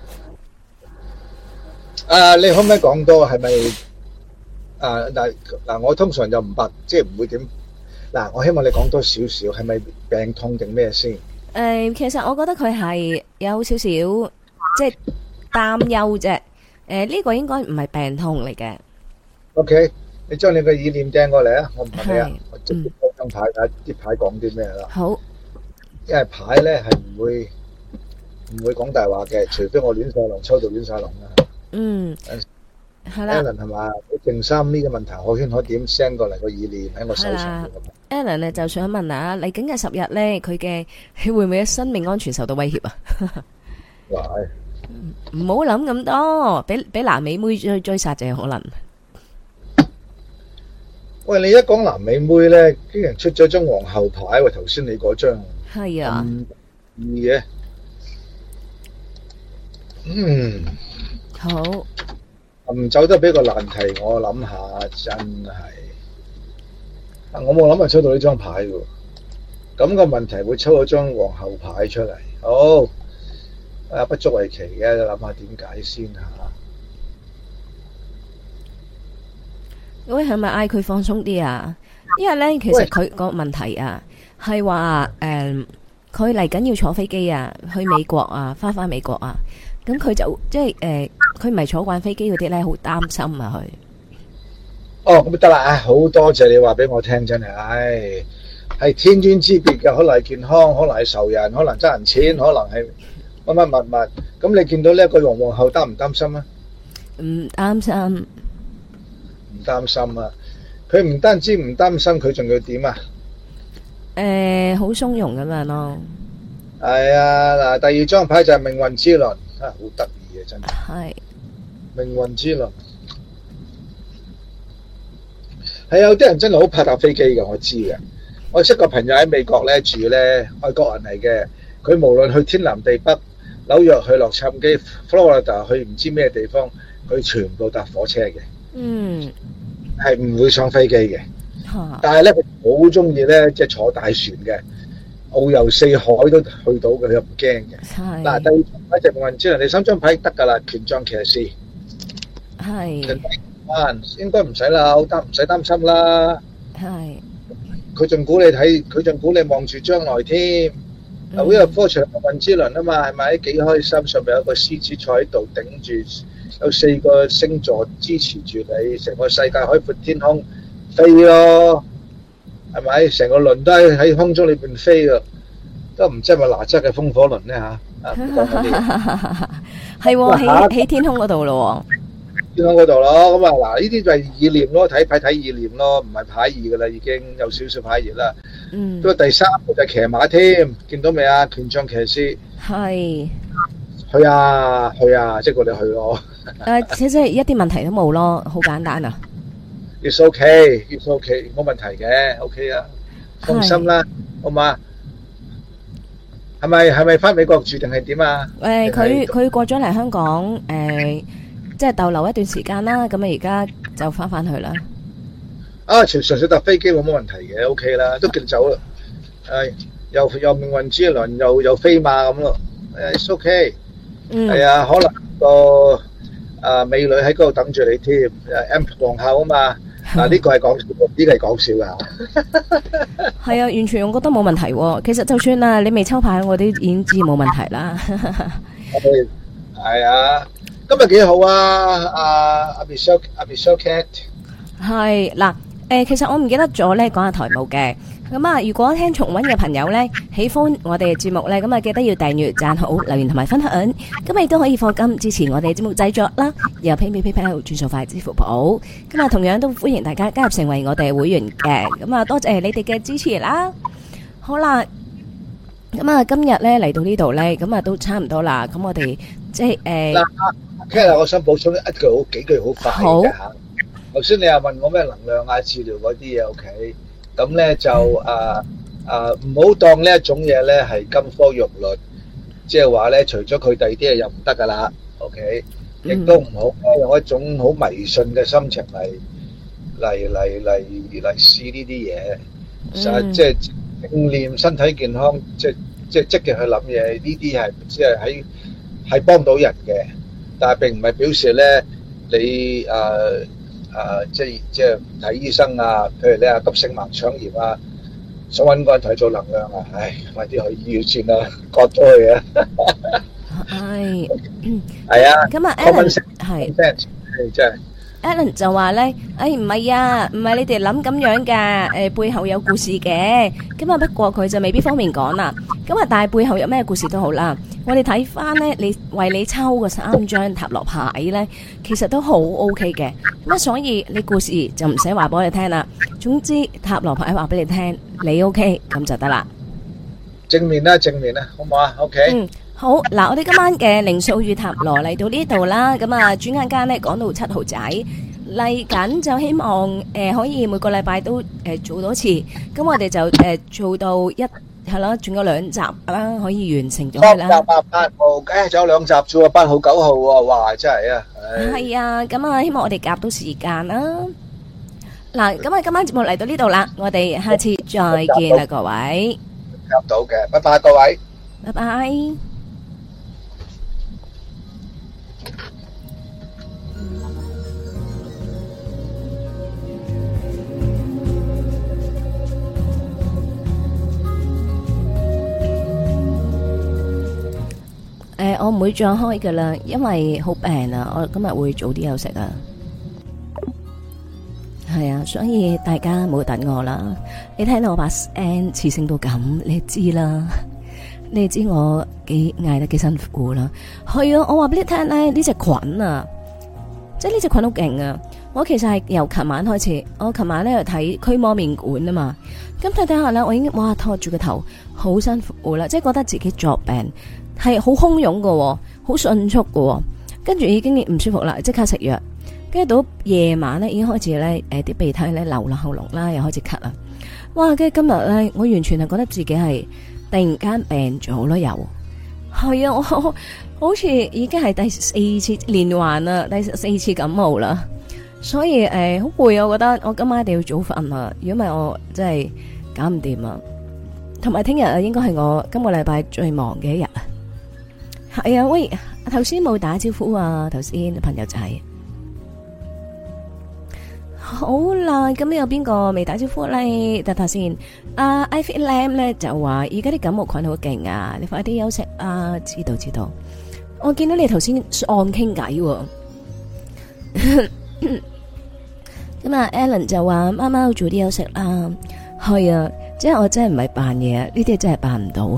你可唔可以講多？係咪嗱？我通常就唔即係唔會點。嗱，我希望你講多少少，係咪病痛定咩先？ 其實我覺得佢係有少少即係擔憂啫。呢個應該唔係病痛嚟嘅。 OK。你將你嘅意念掟過嚟啊！我唔問你啊，我直接開張牌睇下啲牌講啲咩啦。 好， 因為牌咧係唔會講大話嘅，除非我亂晒龍抽到亂晒龍啦。 嗯，係啦。 Alan 係嘛？靜心呢個問題可圈可點 send 過嚟個意念喺我手上。 Alan 咧就想問下嚟緊嘅10日咧，佢會唔會生命安全受到威脅啊？唔好諗咁多，俾南美妹追殺就有可能。 喂，你一講南美妹咧，竟然出咗張皇后牌喎！頭先你嗰張係啊， 易嘅， 好， 走得比較難題，我諗下真係，我冇諗過抽到呢張牌喎。咁個問題會抽到張皇后牌出嚟，好，不足為奇嘅，諗下點解先吓。 喂，係咪嗌佢放鬆啲啊？因為咧，其實佢個問題啊，係話佢嚟緊要坐飛機啊，去美國啊，翻美國啊，咁佢就即係佢唔係坐慣飛機嗰啲咧，好擔心啊佢。 咁得啦，好多謝你話俾我聽，真係，係天淵之別嘅，可能係健康，可能係仇人，可能爭人錢，可能係乜物。咁你見到呢一個皇后擔唔擔心啊？ 唔擔心。 唔擔心啊！佢唔單止唔擔心，佢仲要點啊？ 好鬆容咁樣咯。 係啊，嗱，第二張牌就係命運之輪，好得意嘅真係。係命運之輪，係有啲人真係好怕搭飛機嘅，我知嘅。我識個朋友喺美國咧住咧，外國人嚟嘅。佢無論去天南地北，紐約去洛杉磯、Florida 去唔知咩地方，佢全部搭火車嘅。係唔會上飛機嘅，但係咧佢好中意咧，即係坐大船嘅，遨遊四海都去到嘅，佢又唔驚嘅。嗱，第二張牌就命運之輪，第三張牌得噶啦，權杖騎士。係，應該唔使啦，唔使擔心啦。係，佢仲鼓你睇，佢仲鼓你望住將來添。嗱，呢個科場命運之輪啊嘛，係咪幾開心？上面有個獅子坐喺度頂住。有4個星座支持住你，成個世界海闊天空飛咯，係咪？成個輪都喺空中裏邊飛噶，都唔知係咪哪吒嘅風火輪咧吓？ 係喺天空嗰度咯， 天空嗰度咯。咁啊，嗱，呢啲就係意念咯，睇牌睇意念咯，唔係牌意噶啦，已經有少少牌意啦。不過第三個就係騎馬添，見到未啊？權杖騎士係去啊，即係我哋去咯。 其實一啲問題都冇咯，好簡單啊。 It's okay，it's okay，冇問題嘅，OK 啊，放心啦，好嘛？係咪翻美國住定係點啊？ 佢過咗嚟香港，即係逗留一段時間啦。咁啊，而家就翻去啦。 啊，純粹搭飛機冇乜問題嘅，OK 啦，都叫走啦。又命運之輪，又飛馬咁咯。It's okay。係啊，可能個美女喺嗰度等住你添，M 皇后啊嘛。呢個係講笑，呢個係講笑噶。 係啊，完全我覺得冇問題喎。其實就算啊，你未抽牌，我都已經知冇問題啦。 係啊，今日幾好啊，阿 Michelle Cat。 係嗱，其實我唔記得咗咧，講下台務嘅。咁啊，如果聽重溫嘅朋友咧，喜歡我哋嘅節目咧，咁啊記得要訂閱、讚好、留言同埋分享。咁亦都可以課金支持我哋節目製作啦。由 PayPal 轉數快支付寶。咁啊，同樣都歡迎大家加入成為我哋會員嘅。咁啊，多謝你哋嘅支持啦。好啦，咁啊，今日咧嚟到呢度咧，咁啊都差唔多啦。咁我哋即係嗱，Cat，我想補充幾句好快嘅嚇。頭先你又問我咩能量啊、治療嗰啲嘢 ，OK？咁咧就唔好當呢一種嘢咧係金科玉律，即係話咧除咗佢第二啲嘢又唔得噶啦 ，OK？亦都唔好用一種好迷信嘅心情嚟試呢啲嘢，即係正念身體健康，即係積極去諗嘢，呢啲係即係係幫到人嘅，但係並唔係表示咧你即係睇醫生啊，譬如你急性盲腸炎啊，想揾個人同你做能量啊，快啲去醫院先啦，割咗佢啊！係啊， 咁啊 ，Alan 係真係 Alan 就話咧，唔係啊，唔係你哋諗咁樣噶，背後有故事嘅，咁啊不過佢就未必方便講啦。咁啊，但係背後有咩故事都好啦，我哋睇翻咧，你為你抽嘅3張塔羅牌咧，其實都好 OK 嘅。咁啊，所以你故事就唔使話俾我哋聽啦。總之塔羅牌話俾你聽，你 OK 咁就得啦。 正面啦，好唔好啊 ？OK。 好嗱，我哋今晚嘅靈數與塔羅嚟到呢度啦，咁啊，轉眼間咧講到7號仔嚟緊，就希望可以每個禮拜都做多次，咁我哋就做到係咯，仲有2集啦，可以完成咗佢啦。 8號，仲有2集啫喎，8號9號喎，哇，真係啊！ 係啊，咁啊，希望我哋夾到時間啦。嗱，咁啊，今晚節目嚟到呢度啦，我哋下次再見啦，各位。 夾到嘅，拜拜，各位。 拜拜。我唔會再開噶啦，因為好病啊，我今日會早啲休息啊。係啊，所以大家唔好等我啦。你聽到我把聲磁性到咁，你知啦。你知我嗌得幾辛苦啦。係啊，我話俾你聽咧，呢隻菌啊，即係呢隻菌好勁啊。我其實係由琴晚開始，我琴晚咧去睇驅魔面館啊嘛。咁睇下咧，我已經哇拖住個頭，好辛苦啦，即係覺得自己作病。係好洶湧嘅，好迅速嘅，跟住已經唔舒服啦，即刻食藥，跟住到夜晚咧已經開始咧，啲鼻涕咧流落喉嚨啦，又開始咳啦，哇！跟住今日咧，我完全係覺得自己係突然間病咗咯，又係啊，我好似已經係第4次連環啦，第4次感冒啦，所以好攰啊，我覺得我今晚一定要早瞓啊，如果唔係我真係搞唔掂啊，同埋聽日啊，應該係我今個禮拜最忙嘅一日啊。係啊，喂，頭先冇打招呼啊，頭先朋友仔。好啦，咁有邊個未打招呼咧？睇睇先。阿 Ivy Lam 咧就話，而家啲感冒菌好勁啊，你快啲休息啊！知道。我見到你頭先按傾偈。咁啊 ，Alan 就話貓貓早啲休息啦。係啊，即係我真係唔係扮嘢，呢啲真係扮唔到。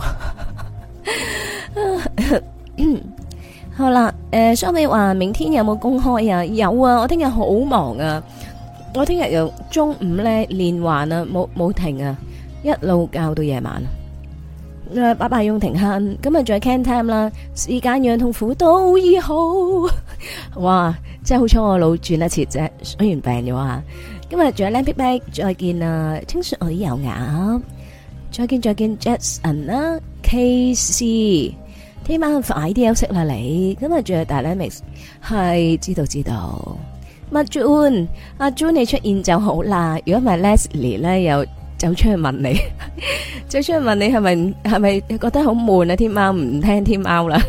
好啦，雙美話明天有冇公開啊？有啊，我聽日好忙啊，我聽日由中午咧連環啊，冇停啊，一路教到夜晚。拜拜用停慳，今日仲有 can time 啦，時間讓痛苦都醫好。哇，真係好彩我腦轉一次啫，雖然病咗啊。 今日仲有靚 Big Big，再見啊！清水油鴨，再見 Jackson 啦 ，KC， 聽晚快啲休息啦你。今日仲有大 Lemix， 係知道。阿 June， 阿 June 你出現就好啦。如果唔係 Leslie 咧，又走出去問你，係咪覺得好悶啊？天貓唔聽天貓啦，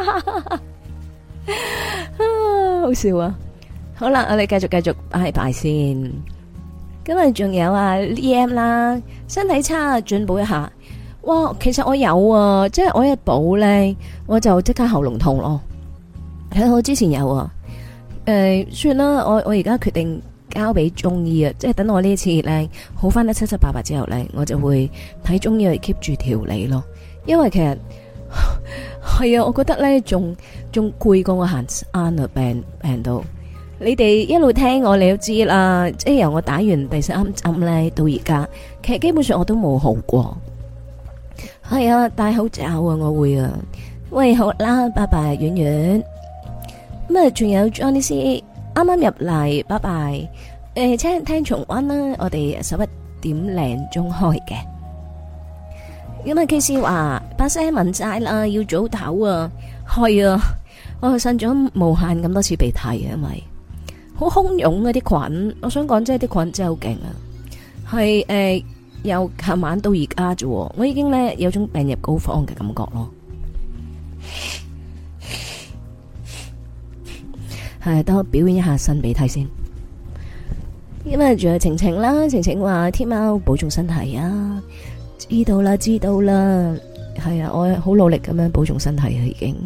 好笑啊！好啦，我哋繼續拜拜先。今日仲有啊 EM 啦，身體差進補一下。哇，其實我有啊，即係我一補咧，我就即刻喉嚨痛咯。我之前有啊，算啦，我而家決定交俾中醫啊，即係等我呢次咧好翻得七七八八之後咧，我就會睇中醫去 keep 住調理咯。因為其實係啊，我覺得咧仲攰過我行山啊，病到。你哋一路聽我，你都知啦。即係由我打完第3針咧到而家，其實基本上我都冇好過。係啊，戴口罩啊，我會啊。喂，好啦，拜拜，婉婉。咁啊，仲有 Johnny C 啱啱入嚟，拜拜。聽重溫啦，我哋11點零鐘開嘅。咁啊，K C 話把聲聞晒啦，要早唞啊。係啊，我擤咗無限咁多次鼻涕啊，因為好洶湧啊啲菌，我想講即係啲菌真係好勁啊，係由琴晚到而家啫，我已經咧有種病入膏肓嘅感覺咯。係，等我表演一下擤鼻涕先。因為仲有晴晴啦，晴晴話天喵保重身體啊，知道啦，係啊，我好努力咁樣保重身體啊，已經。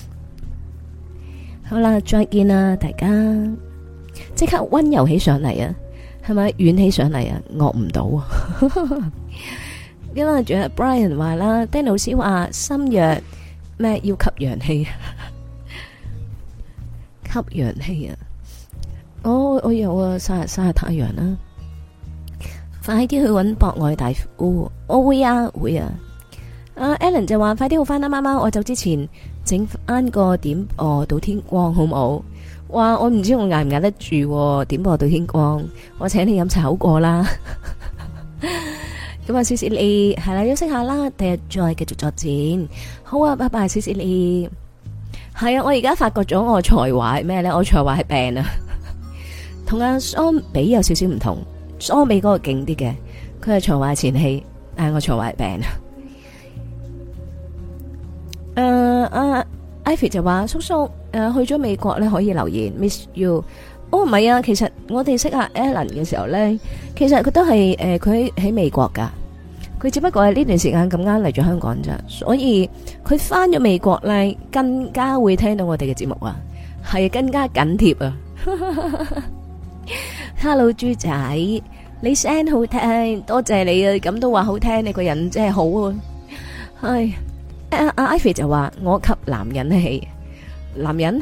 好啦，再見啦，大家。即刻溫柔起上嚟啊，係咪軟起上嚟啊？惡唔到啊！因為仲有 Brian 話啦 ，Dan 老師話心藥咩要吸陽氣，吸陽氣啊！我有啊，曬下太陽啦，快啲去搵博愛大夫，我會啊。阿 Alan 就話快啲好翻啦，媽媽，我走之前整翻個點播到天光好冇？哇！我唔知我捱唔捱得住點播到天光，我請你飲茶好過啦。咁啊，謝謝你係啦，休息下啦，第日再繼續作戰。好啊，拜拜，謝謝你。係啊，我而家發覺咗我才華係咩咧？我才華係病啊，同阿桑比有少少唔同。桑比嗰個勁啲嘅，佢係才華前戲，但係我才華係病啊。Ivy 就話叔叔去咗美國咧，可以留言 miss you。哦，唔係啊，其實我哋識阿 Alan 嘅時候咧，其實佢都係佢喺美國噶，佢只不過係呢段時間咁啱嚟咗香港咋，所以佢翻咗美國咧，更加會聽到我哋嘅節目啊，係更加緊貼啊。Hello 豬仔，你聲好聽，多謝你啊，咁都話好聽，你個人真係好啊，係。阿 Ivy 就話我吸男人氣，男人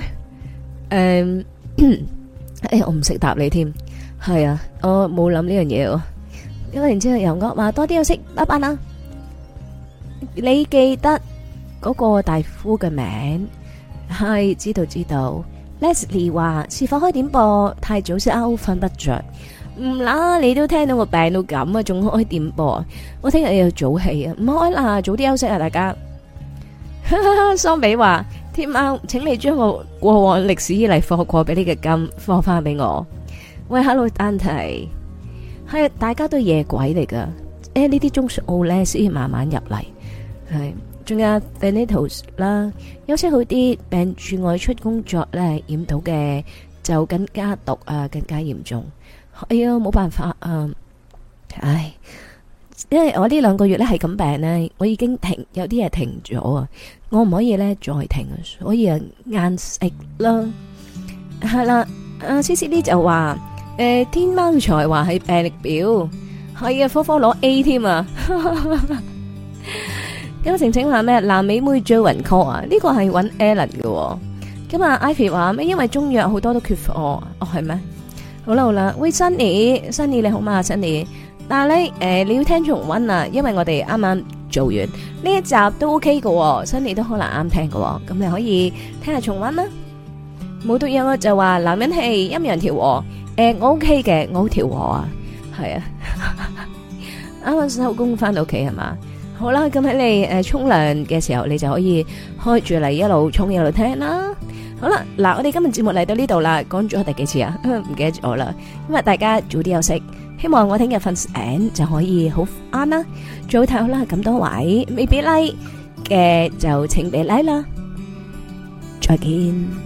我唔識答你添，係啊，我冇諗呢樣嘢喎。因為然之後由我話多啲休息，拜拜啦。你記得嗰個大夫嘅名？係知道。Leslie 話是否開點播？太早先瞓不着。唔啦，你都聽到我病到咁啊，仲開點播？我聽日要早起啊，唔開啦，早啲休息啊，大家。桑比話天喵，請你將我過往歷史以嚟課過俾你嘅金課翻俾我。喂 ，Hello Dante， 係大家都夜鬼嚟噶，呢啲鐘數咧先慢慢入嚟。係，仲有 Benito 啦，休息好啲，病住外出工作咧染到嘅就更加毒啊，更加嚴重。哎呀，冇辦法啊，唉。因為我呢2個月咧係咁病咧，我已經有啲嘢停咗啊，我唔可以咧再停啊，所以啊硬食啦。係啦，阿 C 呢就話天貓才華係病歷表，係啊，科攞 A 添啊。咁晴晴話咩？南美妹追魂 call 啊？呢個係揾 Alan 嘅。咁啊 Ivy 話咩？因為中藥好多都缺貨，哦係咩？好啦，喂 Sunny 你好嘛 Sunny？但係咧，你要聽重溫啊，因為我哋啱啱做完呢一集都 OK 嘅，新你都可能啱聽嘅，咁你可以聽下重溫啦。冇毒藥我就話男人氣陰陽調和， 我 OK 嘅，我好調和啊，係啊，啱啱收工翻到屋企係嘛？好啦，咁喺你沖涼嘅時候，你就可以開住嚟一路沖一路聽啦。好啦，嗱，我哋今日節目嚟到呢度啦，講咗第幾次啊？唔記得咗啦。咁啊，大家早啲休息，希望我聽日瞓醒就可以好啱啦。早唞啦，咁多位未俾 like 嘅就請俾 like 啦。再見。